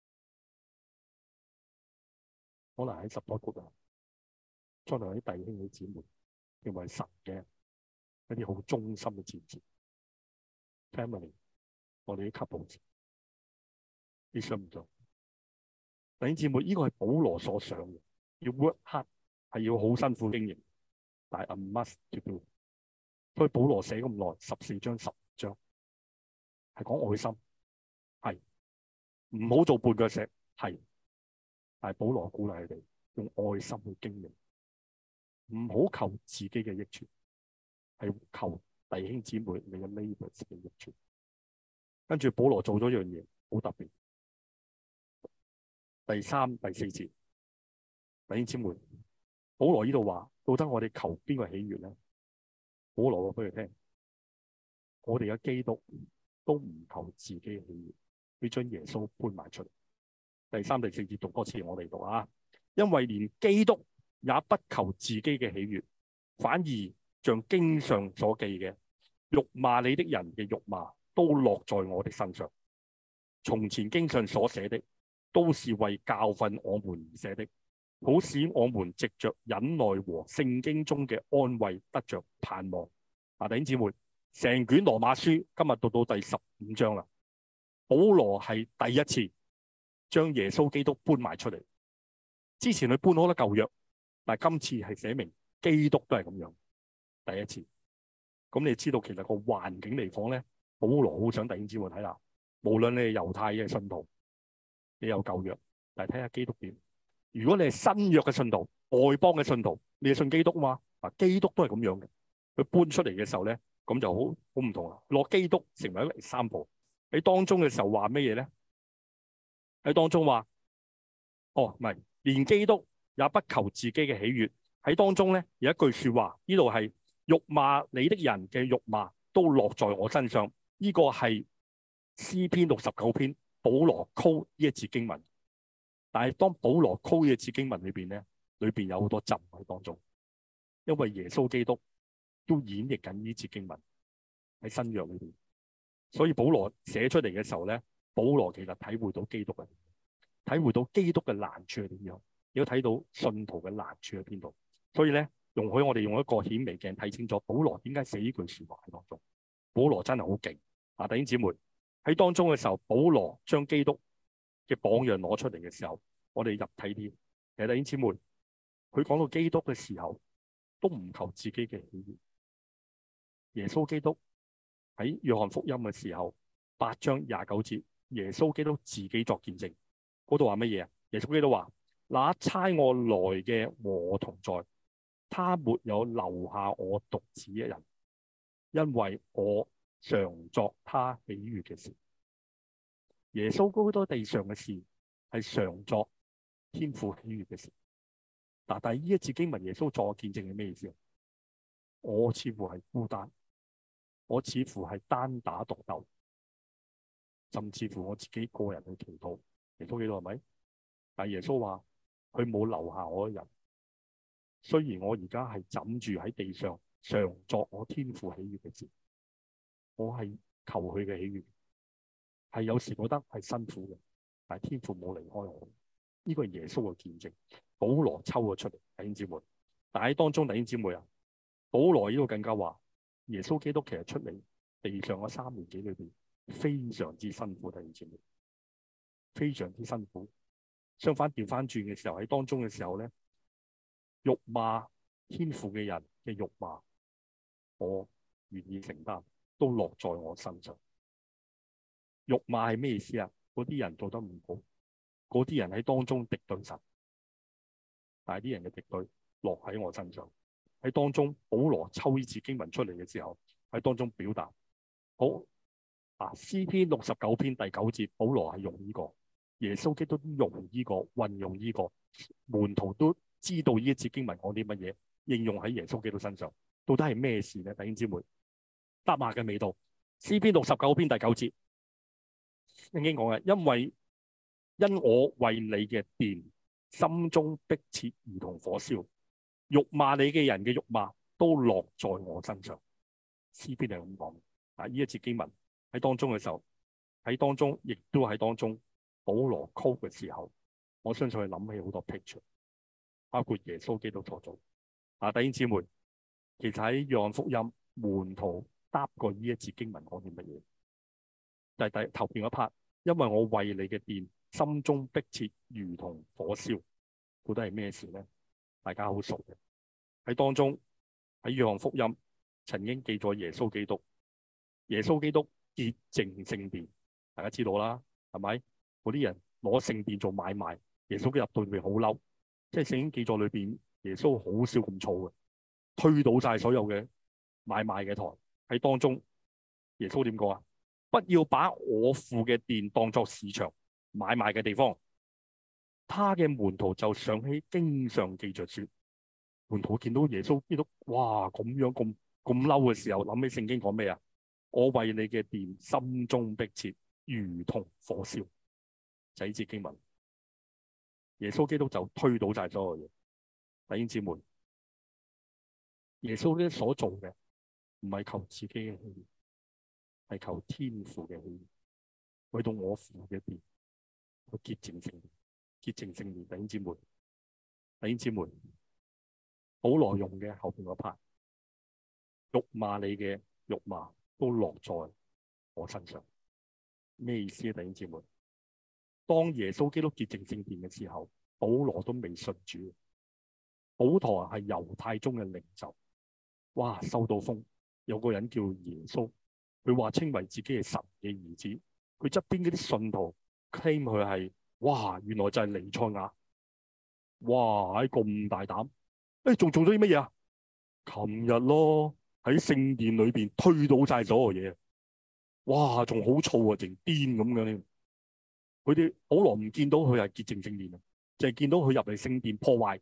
可能喺support group啊，將來啲弟兄嘅姊妹成為神嘅一啲好忠心嘅戰士 family， 我哋啲 couple， 你想唔想？弟兄姊妹，呢個係保羅所想嘅，要 work hard， 係要好辛苦經營，但係 a must to do。所以保羅寫咁耐，14章、15章係講愛心，係唔好做絆腳石，係，但係保羅鼓勵佢哋用愛心去經營，唔好求自己嘅益處，係求弟兄姊妹你嘅 neighbors 嘅益處。跟住保羅做咗一樣嘢好特別。第3、第4節，弟兄姊妹，保羅呢度話，到底我哋求邊個喜悅咧？保羅話俾佢聽，我哋嘅基督都唔求自己嘅喜悅，要將耶穌搬埋出嚟。第3、第4節讀多次，我哋讀啊，因為連基督也不求自己嘅喜悅，反而像經上所記嘅，辱罵你的人嘅辱罵都落在我的身上。從前經上所寫的，都是為教訓我們而寫的，好使我們藉着忍耐和聖經中嘅安慰得着盼望。弟兄姊妹，成卷羅馬書今日讀到第15章啦。保羅係第一次將耶穌基督搬埋出嚟。之前佢搬好多舊約，但係今次係寫明基督都係咁樣，第一次。咁你知道其實個環境嚟講咧，保羅好想弟兄姊妹睇下，無論你係猶太嘅信徒，你有舊約，但係睇下基督點。如果你係新約嘅信徒，外邦嘅信徒，你係信基督嘛？基督都係咁樣嘅。佢搬出嚟嘅時候咧，咁就好唔同啦。攞基督成為一個 example，喺當中嘅時候話乜嘢咧？喺當中話，唔係，連基督也不求自己嘅喜悅。喺當中咧有一句說話，呢度係辱罵你的人嘅辱罵都落在我身上。呢個係詩篇69篇。保羅 quote 呢一節經文，但係當保羅 quote 呢一節經文裏邊咧，裏邊有好多浸喺當中，因為耶穌基督都演繹緊呢節經文喺新約裏邊，所以保羅寫出嚟嘅時候咧，保羅其實體會到基督嘅，體會到基督嘅難處係點樣，亦都睇到信徒嘅難處喺邊度。所以咧，容許我哋用一個顯微鏡睇清楚保羅點解寫呢句說話喺當中。保羅真係好勁啊！弟兄姊妹。喺當中嘅時候，保羅將基督嘅榜樣攞出嚟嘅時候，我哋入睇啲。其實弟兄姊妹，佢講到基督嘅時候，都唔求自己嘅喜悅。耶穌基督喺約翰福音嘅時候8章29節，耶穌基督自己作見證，嗰度話乜嘢啊？耶穌基督話：那差我來嘅和我同在，他沒有留下我獨自一人，因為我常作他喜悅嘅事。耶穌基督地上嘅事係常作天父喜悅嘅事。但係呢一節經文，耶穌作見證係咩意思啊？我似乎係孤單，我似乎係單打獨鬥，甚至乎我自己個人去祈禱。耶穌基督係咪？但係耶穌話佢冇留下我一人。雖然我而家係枕住喺地上，常作我天父喜悅嘅事，我係求佢嘅喜悅，係有時覺得係辛苦嘅，但係天父冇離開我。呢個係耶穌嘅見證。保羅抽咗出嚟，弟兄姊妹。但喺當中，弟兄姊妹啊，保羅呢度更加話，耶穌基督其實出嚟地上嘅3年幾裏邊，非常之辛苦，弟兄姊妹，非常之辛苦。相反調翻轉嘅時候，喺當中嘅時候咧，辱罵天父嘅人嘅辱罵，我願意承擔，都落在我身上。辱罵係咩意思啊？嗰啲人做得唔好，嗰啲人喺當中敵對神，但係啲人嘅敵對落喺我身上。喺當中，保羅抽呢次經文出嚟嘅時候，喺當中表達好啊。詩篇69篇第9節，保羅係用呢個，耶穌基督都用呢個，運用呢個，門徒都知道呢一次經文講啲乜嘢，應用喺耶穌基督身上，到底係咩事咧？弟兄姊妹，答馬嘅味道。詩篇69篇第9節，聖經講嘅，因我為你嘅殿，心中迫切如同火燒，辱罵你嘅人嘅辱罵都落在我身上。詩篇係咁講啊！呢一節經文喺當中嘅時候，喺當中亦都喺當中，保羅 quote 嘅時候，我相信佢諗起好多 picture， 包括耶穌基督所做啊。弟兄姊妹，其實喺約翰福音，門徒答過呢一節經文講啲乜嘢？就係頭邊嗰 part， 因為我為你嘅殿，心中迫切如同火燒，到底係咩事咧？大家好熟嘅。喺當中喺約翰福音曾經記載耶穌基督潔淨聖殿，大家知道啦，係咪？嗰啲人攞聖殿做買賣，耶穌基督入到裏邊好嬲，即係聖經記載裏邊耶穌好少咁燥嘅，推倒晒所有嘅買賣嘅台。喺當中耶穌點講啊？不要把我父嘅殿當作市場買賣嘅地方。他嘅門徒就想起經上記着說，門徒見到耶穌基督哇咁樣咁嬲嘅時候，諗起聖經講咩啊？我為你嘅殿心中迫切如同火燒，就呢節經文。耶穌基督就推倒晒所有嘢。弟兄姊妹，耶穌基督所做嘅唔係求自己嘅喜悅，係求天父嘅喜悅，為到我父嘅殿去潔淨聖殿，潔淨聖殿。弟兄姊妹，保羅用嘅後邊嗰 part， 辱罵你嘅辱罵都落在我身上，咩意思啊？弟兄姊妹，當耶穌基督潔淨聖殿嘅時候，保羅都未信主，保羅係猶太宗嘅領袖，哇，收到風，有個人叫耶穌，佢話稱為自己係神嘅兒子，佢側邊嗰啲信徒 claim 佢係，哇，原來就係彌賽亞，哇，咁大膽，仲做咗啲乜嘢啊？琴日咯，喺聖殿裏邊推倒晒所有嘢，哇，仲好燥啊，淨癲咁樣。佢哋保羅唔見到佢係潔淨聖殿啊，淨係見到佢入嚟聖殿破壞。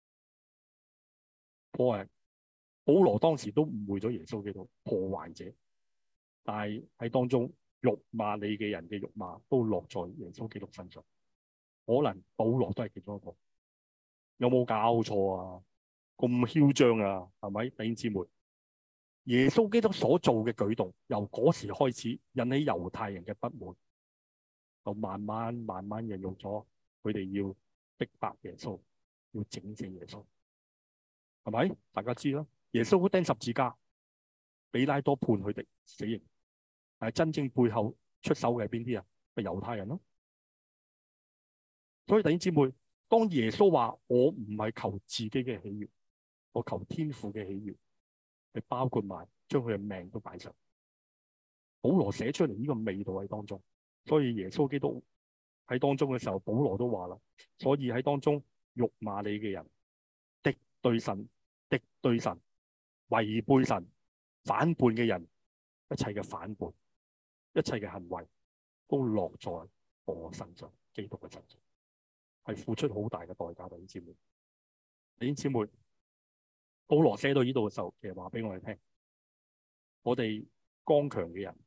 保羅當時都誤會咗耶穌基督破壞者，但係喺當中辱罵你嘅人嘅辱罵都落在耶穌基督身上。可能保羅都係其中一個。有冇搞錯啊？咁囂張啊？係咪？弟兄姊妹，耶穌基督所做嘅舉動，由嗰時開始引起猶太人嘅不滿，就慢慢引用咗佢哋要逼迫耶穌，要整死耶穌，係咪？大家知啦。耶穌釘十字架，比拉多判佢哋死刑，但係真正背後出手嘅係邊啲啊？係猶太人咯。所以弟兄姊妹，當耶穌話我唔係求自己嘅喜悅，我求天父嘅喜悅，係包括埋將佢嘅命都擺上。 保羅寫出嚟呢個味道喺當中，所以耶穌基督喺當中嘅時候，保羅都話啦，所以喺當中辱罵你嘅人，敵對神、違背神、反叛嘅人，一切嘅反叛、一切嘅行為都落在我身上，基督嘅身上，係付出好大嘅代價。弟兄姊妹，弟兄姊妹，保羅寫到呢度嘅時候，其實話俾我哋聽，我哋剛強嘅人，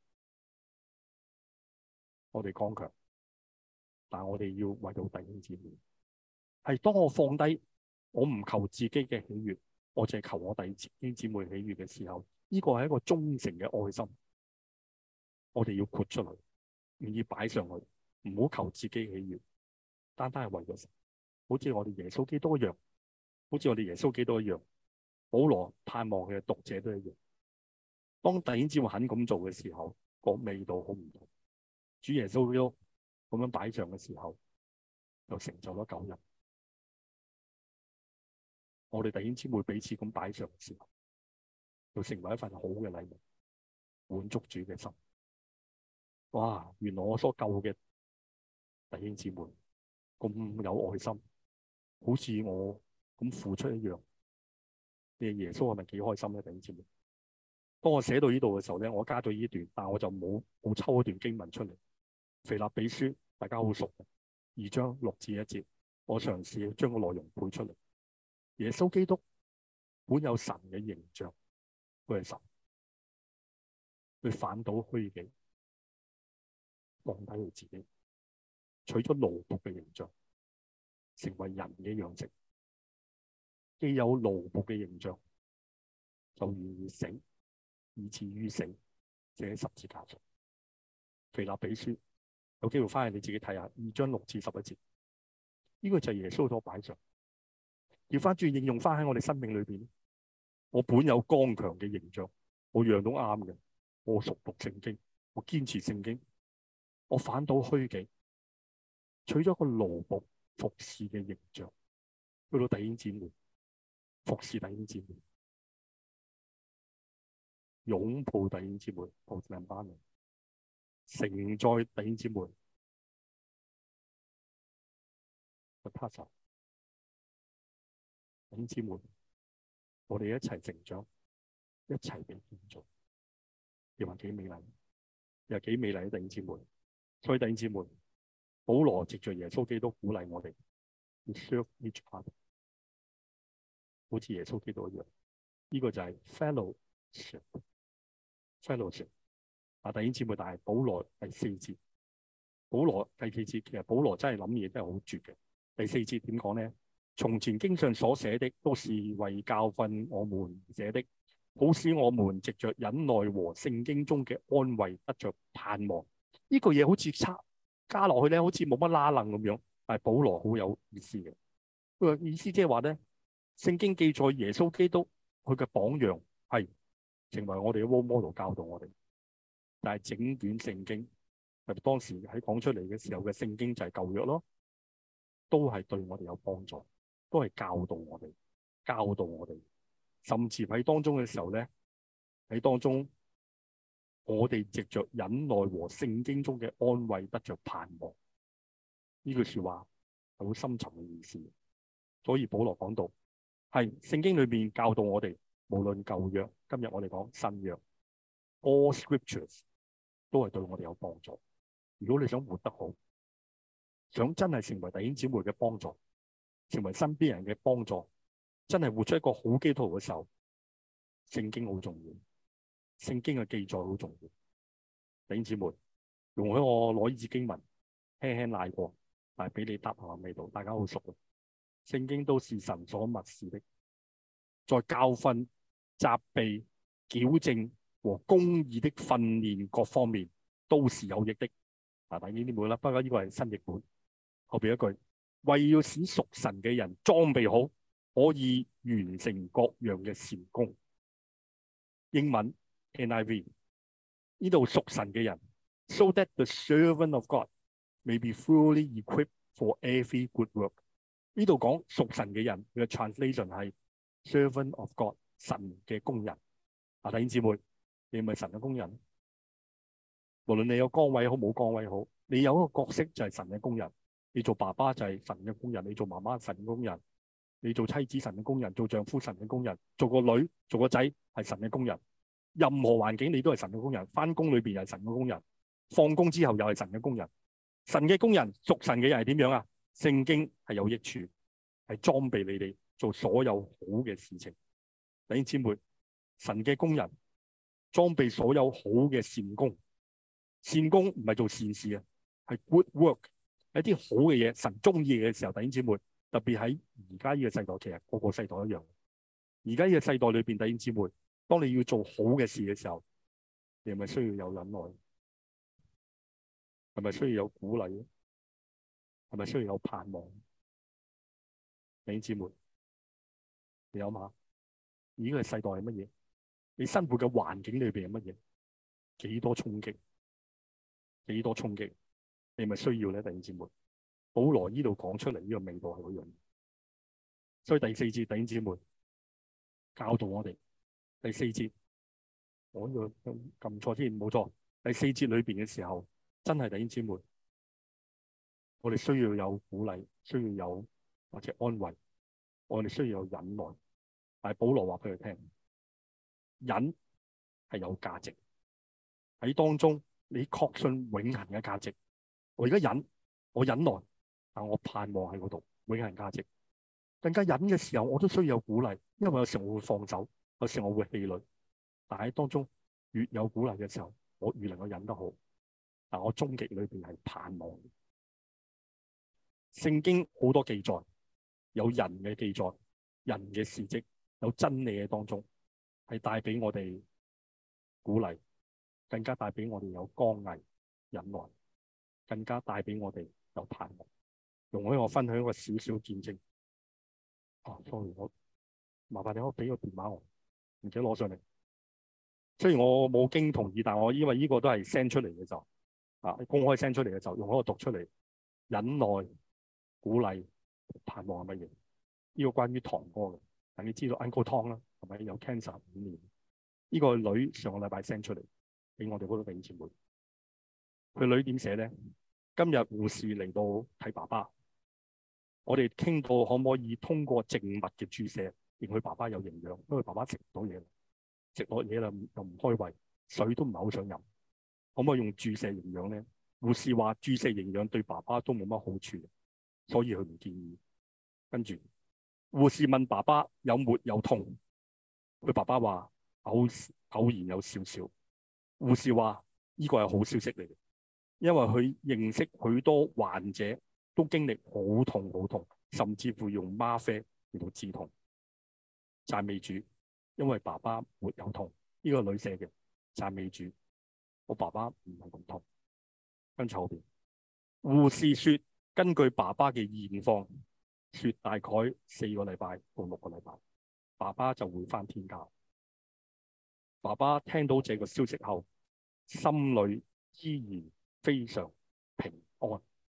我哋剛強，但係我哋要為到弟兄姊妹，係當我放低，我唔求自己嘅喜悅，我淨係求我弟兄姊妹喜悅嘅時候，呢個係一個忠誠嘅愛心，我哋要豁出嚟，願意擺上去，唔好求自己喜悅，單單係為咗神，好似我哋耶穌基督一樣，好似我哋耶穌基督一樣，保羅盼望嘅讀者都一樣。當弟兄姊妹肯咁做嘅時候，個味道好唔同。主耶穌基督咁樣擺上嘅時候，就成就咗救恩。我哋弟兄姊妹彼此咁擺上嘅時候，就成為一份好嘅禮物，滿足主嘅心。哇！原來我所救嘅弟兄姊妹咁有愛心，好似我咁付出一樣。你耶穌係咪幾開心咧？弟兄姊妹，當我寫到呢度嘅時候咧，我加咗呢段，但我就冇抽一段經文出嚟。腓立比書大家好熟嘅2章6至1節，我嘗試將個內容背出嚟。耶穌基督本有神嘅形象，佢係神，佢反倒虛己，降低佢自己，取咗奴僕嘅形象，成為人嘅樣式。既有奴僕嘅形象，就願意死，以至於死，死喺十字架上。腓立比書有機會翻去你自己睇下2章6至11節，呢個就係耶穌所擺上。要翻轉應用翻喺我哋生命裏邊，我本有剛強嘅形象，我樣都啱嘅，我熟讀聖經，我堅持聖經，我反倒虛己，取咗個奴僕服侍嘅形象，去到弟兄姊妹服侍弟兄姊妹，擁抱弟兄姊妹，抱住兩班人，承載弟兄姊妹去拍手。弟兄姊妹，我哋一齊成長，一齊被建造，又話幾美麗，又幾美麗嘅弟兄姊妹。所以弟兄姊妹，保羅藉着耶穌基督鼓勵我哋要 serve each other， 好似耶穌基督一樣。呢個就係 fellowship。弟兄姊妹，但係保羅第4節，保羅第4節，其實保羅真係諗嘢真係好絕嘅。第4節點講咧？從前經上所寫的，都是為教訓我們寫的，好使我們藉着忍耐和聖經中嘅安慰得着盼望。呢個嘢好似加落去咧，好似冇乜拉楞咁樣，但係保羅好有意思嘅。佢個意思即係話咧，聖經記載耶穌基督佢嘅榜樣係成為我哋嘅 role model， 教導我哋。但係整卷聖經，特別當時喺講出嚟嘅時候嘅聖經就係舊約咯，都係對我哋有幫助。都係教導我哋，甚至喺當中嘅時候咧，喺當中我哋藉着忍耐和聖經中嘅安慰得着盼望。呢句說話係好深沉嘅意思。所以保羅講到係聖經裏面教導我哋，無論舊約，今日我哋講新約 ，all scriptures 都係對我哋有幫助。如果你想活得好，想真係成為弟兄姊妹嘅幫助，成為身邊人嘅幫助，真係活出一個好基督徒嘅時候，聖經好重要，聖經嘅記載好重要。弟兄姊妹，容許我攞呢節經文輕輕賴過，但係俾你答下味道，大家好熟嘅。聖經都是神所默示的，在教訓、責備、矯正和公義的訓練各方面都是有益的。但係呢啲冇啦，不過呢個係新譯本，後邊一句。為要使屬神嘅人裝備好，可以完成各樣嘅善工。英文 NIV 呢度屬神嘅人 ，so that the servant of God may be fully equipped for every good work。呢度講屬神嘅人，佢嘅 translation 係 servant of God， 神嘅工人。弟兄姊妹，你係咪神嘅工人？ 無論你有崗位好冇崗位好，你有一個角色就係神嘅工人。你做爸爸就係神嘅工人，你做媽媽神嘅工人，你做妻子神嘅工人，做丈夫神嘅工人，做個女做個仔係神嘅工人。任何環境你都係神嘅工人，返工裏邊又係神嘅工人，放工之後又係神嘅工人。神嘅工人，屬神嘅人係點樣啊？聖經係有益處，係裝備你哋做所有好嘅事情。弟兄姊妹，神嘅工人裝備所有好嘅善功。善功唔係做善事啊，係 good work， 一啲好嘅嘢，神中意嘅時候。弟兄姊妹，特別喺而家呢個世代，其實個個世代一樣。而家呢個世代裏邊，弟兄姊妹，當你要做好嘅事嘅時候，你係咪需要有忍耐？係咪需要有鼓勵？係咪需要有盼望？弟兄姊妹，你諗下，而家嘅世代係乜嘢？你生活嘅環境裏邊係乜嘢？幾多衝擊？幾多衝擊？你係咪需要咧？弟兄姊妹，保羅呢度講出嚟呢個味道係嗰樣。所以第四節，弟兄姊妹教導我哋。第四節，我呢個撳錯先，冇錯。第四節裏邊嘅時候，真係弟兄姊妹，我哋需要有鼓勵，需要有或者安慰，我哋需要有忍耐。但係保羅話俾佢聽，忍係有價值喺當中，你確信永恆嘅價值。我而家忍，我忍耐，但我盼望喺嗰度永恆價值。更加忍嘅時候，我都需要有鼓勵，因為有時候我會放手，有時候我會氣餒。但係當中越有鼓勵嘅時候，我越能夠忍得好。但我終極裏邊係盼望。聖經好多記載，有人嘅記載，人嘅事蹟，有真理嘅當中，係帶俾我哋鼓勵，更加帶俾我哋有剛毅忍耐，更加帶俾我哋有盼望。容許我分享一個少少見證。sorry， 我麻煩你可俾個電話我，唔記得攞上嚟。雖然我冇經同意，但我因為呢個都係 send 出嚟嘅就公開 send 出嚟嘅就用嗰個讀出嚟。忍耐、鼓勵、盼望係乜嘢？呢個關於堂哥嘅，但你知道 Uncle Tom 啦，係咪有 cancer 5年？呢個女上個禮拜 send 出嚟俾我哋嗰個弟兄姊妹。佢女點寫咧？今日護士嚟到睇爸爸，我哋傾到可唔可以通過靜脈嘅注射令佢爸爸有營養，因為爸爸食唔到嘢，食落嘢啦又唔開胃，水都唔係好想飲，可唔可以用注射營養咧？護士話注射營養對爸爸都冇乜好處，所以佢唔建議。跟住護士問爸爸有沒有痛，佢爸爸話偶然有少少。護士話呢個係好消息嚟嘅，因為佢認識許多患者都經歷好痛好痛，甚至乎用嗎啡嚟到止痛。讚美主，因為爸爸沒有痛。呢個女寫嘅，讚美主，我爸爸唔係咁痛。跟住後邊，護士說根據爸爸嘅現況，說大概4個禮拜到6個禮拜，爸爸就會返天家。爸爸聽到這個消息後，心裏依然非常平安。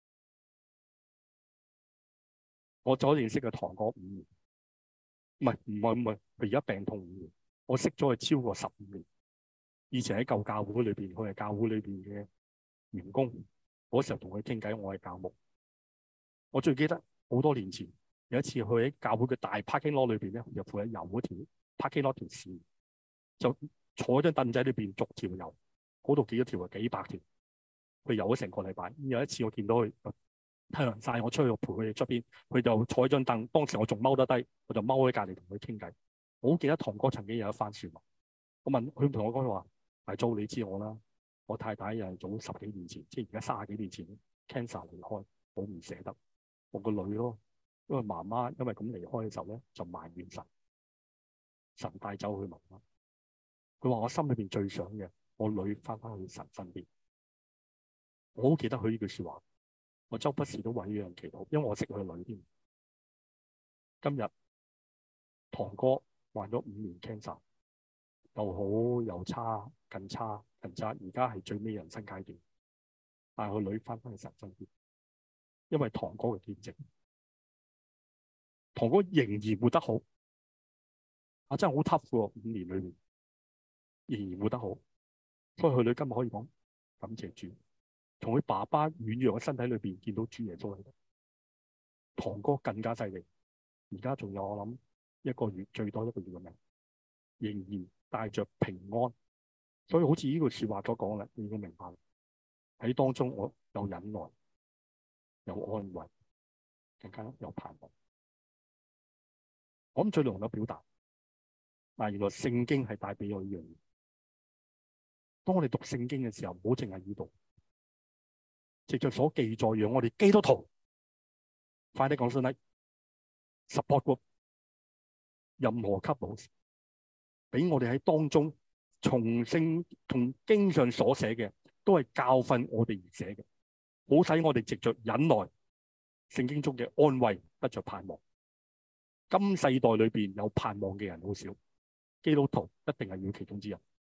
我所認識嘅堂哥5年，唔係，佢而家病痛5年。我識咗佢超過15年。以前喺舊教會裏邊，佢係教會裏邊嘅員工。嗰時候同佢傾偈，我係教牧。我最記得好多年前有一次，佢喺教會嘅大 parking lot 裏邊咧，又負責遊嗰條 parking lot 條線，就坐喺張凳仔裏邊逐條遊，嗰度幾多條啊？幾百條。佢遊咗成個禮拜。有一次我見到佢太陽曬，我出去陪佢哋出邊，佢就坐喺張凳。當時我仲踎得低，我就踎喺隔離同佢傾偈。我好記得堂哥曾經有一番説話，我問佢同我講話：大租你知我啦，我太太又係早10幾年前，即係而家30幾年前 cancer 離開，好唔捨得我個女咯。因為媽媽因為咁離開嘅時候咧，就埋怨神，神帶走佢媽媽。佢話我心裏邊最想嘅，我女翻返去神身邊。我好記得佢呢句説話，我周不時都為呢樣祈禱，因為我識佢女添。今日堂哥患咗5年 cancer， 又好又差，更差，而家係最尾人生階段。但係佢女翻返去神身邊，因為堂哥嘅見證，堂哥仍然活得好。真係好 tough 喎，5年裏面仍然活得好。所以佢女今日可以講感謝主，從佢爸爸軟弱嘅身體裏邊見到主耶穌喺度。堂哥更加犀利，而家仲有我諗一個月最多一個月嘅命，仍然帶着平安。所以好似呢句説話所講嘅，你要明白喺當中我有忍耐，有安慰，更加有盼望。我諗最能夠表達，但原來聖經係帶俾我呢樣嘢。當我哋讀聖經嘅時候，唔好淨係呢度，藉著所記載，讓我哋基督徒快啲講先啦 ，support group 任何級老師，俾我哋喺當中從經上所寫嘅，都係教訓我哋而寫嘅，好使我哋藉著忍耐，聖經中嘅安慰得着盼望。今世代裏邊有盼望嘅人好少，基督徒一定係要其中之一。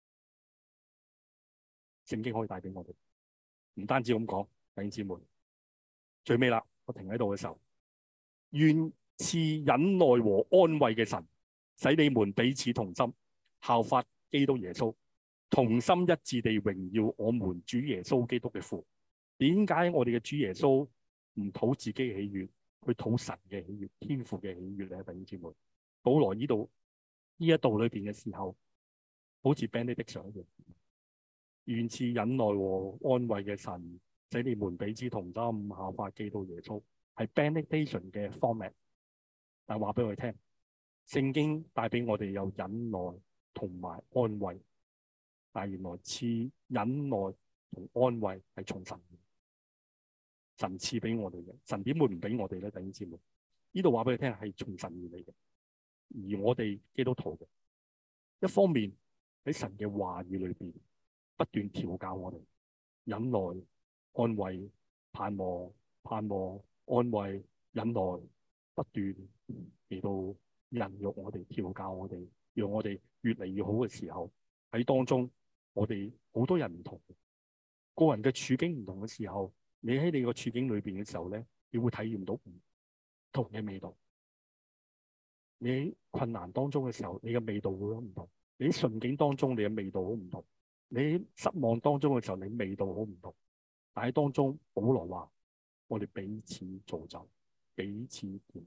聖經可以帶俾我哋，唔單止咁講，弟兄姊妹，最尾啦，我停喺度嘅時候，願賜忍耐和安慰嘅神，使你們彼此同心，效法基督耶穌，同心一致地榮耀我們主耶穌基督嘅父。點解我哋嘅主耶穌唔討自己嘅喜悅，去討神嘅喜悅、天父嘅喜悅咧？弟兄姊妹，保羅呢一度裏邊嘅時候，好似 benediction 一樣，願賜忍耐和安慰嘅神，使你們彼此同心，效法基督耶穌，係 benediction 嘅 format。但係話俾我哋聽，聖經帶俾我哋有忍耐同埋安慰，但係原來賜忍耐同安慰係從神賜俾我哋嘅。神點會唔俾我哋咧？弟兄姊妹，呢度話俾你聽係從神而嚟嘅，而我哋基督徒嘅一方面喺神嘅話語裏邊不斷調教我哋忍耐、安慰、盼望、安慰、忍耐，不斷嚟到孕育我哋、調教我哋，讓我哋越嚟越好嘅時候，喺當中我哋好多人唔同，個人嘅處境唔同嘅時候，你喺你個處境裏邊嘅時候咧，你會體驗到唔同嘅味道。你喺困難當中嘅時候，你嘅味道會好唔同；你喺順境當中，你嘅味道好唔同；你喺失望當中嘅時候，你味道好唔同。但喺當中，保羅話：我哋彼此造就，彼此見。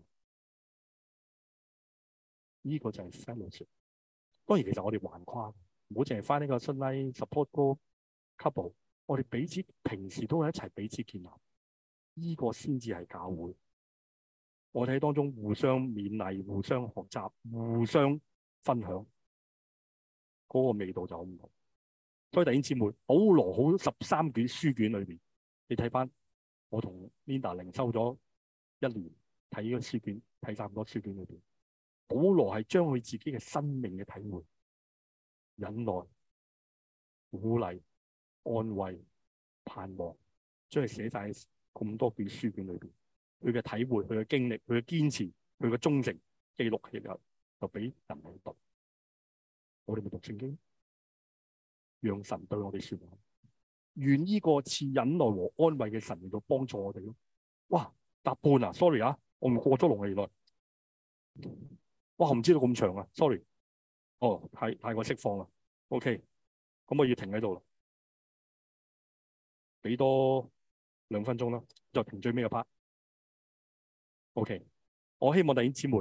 呢個就係 fellowship。當然，其實我哋橫跨，唔好淨係翻呢個 Sunlight support group couple。我哋彼此平時都係一齊彼此建立，呢個先至係教會。我哋喺當中互相勉勵、互相學習、互相分享，嗰個味道就好唔同。所以弟兄姊妹，保羅好13卷書卷裏邊，你睇翻我同 Linda 靈修咗1年，睇呢個書卷，睇晒咁多書卷裏邊，保羅係將佢自己嘅生命嘅體會、忍耐、鼓勵、安慰、盼望，將佢寫晒咁多卷書卷裏邊。佢嘅體會、佢嘅經歷、佢嘅堅持、佢嘅忠誠記錄起嚟，就俾人去讀。我哋咪讀聖經，讓神對我哋說話。願呢個賜忍耐和安慰嘅神嚟到幫助我哋咯。哇，答半啊 ，sorry 啊，我唔過咗龍氣來。哇，我唔知道咁長啊 ，sorry。哦，太過釋放啦。OK，咁我要停喺度啦，俾多2分鐘啦，就停最尾嘅 part。OK，我希望弟兄姊妹，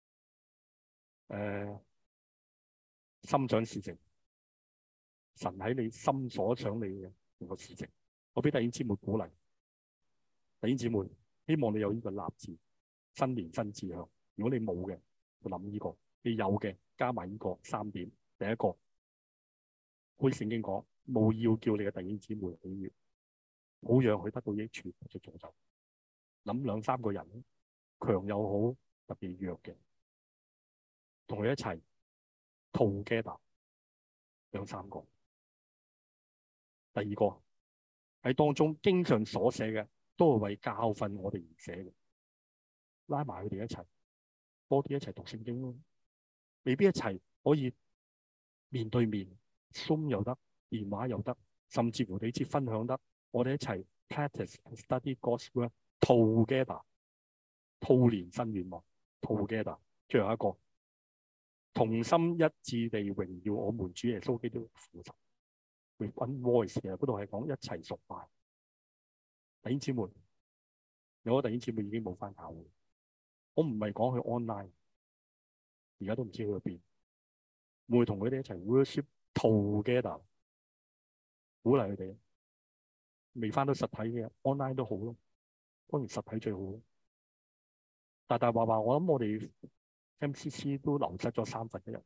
心想事成，神喺你心所想你嘅個事情，我俾弟兄姊妹鼓勵。弟兄姊妹，希望你有呢個立志，新年新志向。如果你冇嘅，就諗呢個；你有嘅，加埋呢個3點。第一個，好似聖經講，務要叫你嘅弟兄姊妹喜悅，好讓佢得到益處，就造就。諗2、3個人，強又好，特別弱嘅，同佢一齊 together 2、3個。第二個喺當中經常所寫嘅，都係為教訓我哋而寫嘅，拉埋佢哋一齊，多啲一齊讀聖經咯。未必一齊可以面對面 Zoom 又得，電話又得，甚至乎你知分享得，我哋一齊 practice and study God's word together。兔年新願望 together。最後一個，同心一致地榮耀我們主耶穌基督的父神。 with one voice 嘅，嗰度係講一齊崇拜。弟兄姊妹，有個弟兄姊妹已經冇返教會，我唔係講佢 online，而家都唔知去咗邊。會同佢哋一齊 worship together， 鼓勵佢哋。未返到實體嘅 online 都好咯，當然實體最好咯。大話，我諗我哋 MCC 都流失咗1/3，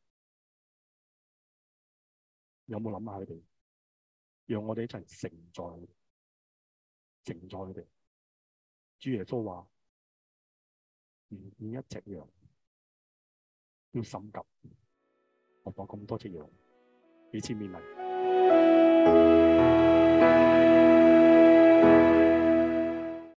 有冇諗下佢哋？讓我哋一齊承載佢哋。主耶穌話：唔見一隻羊要心急，我放咁多隻羊，彼此勉勵。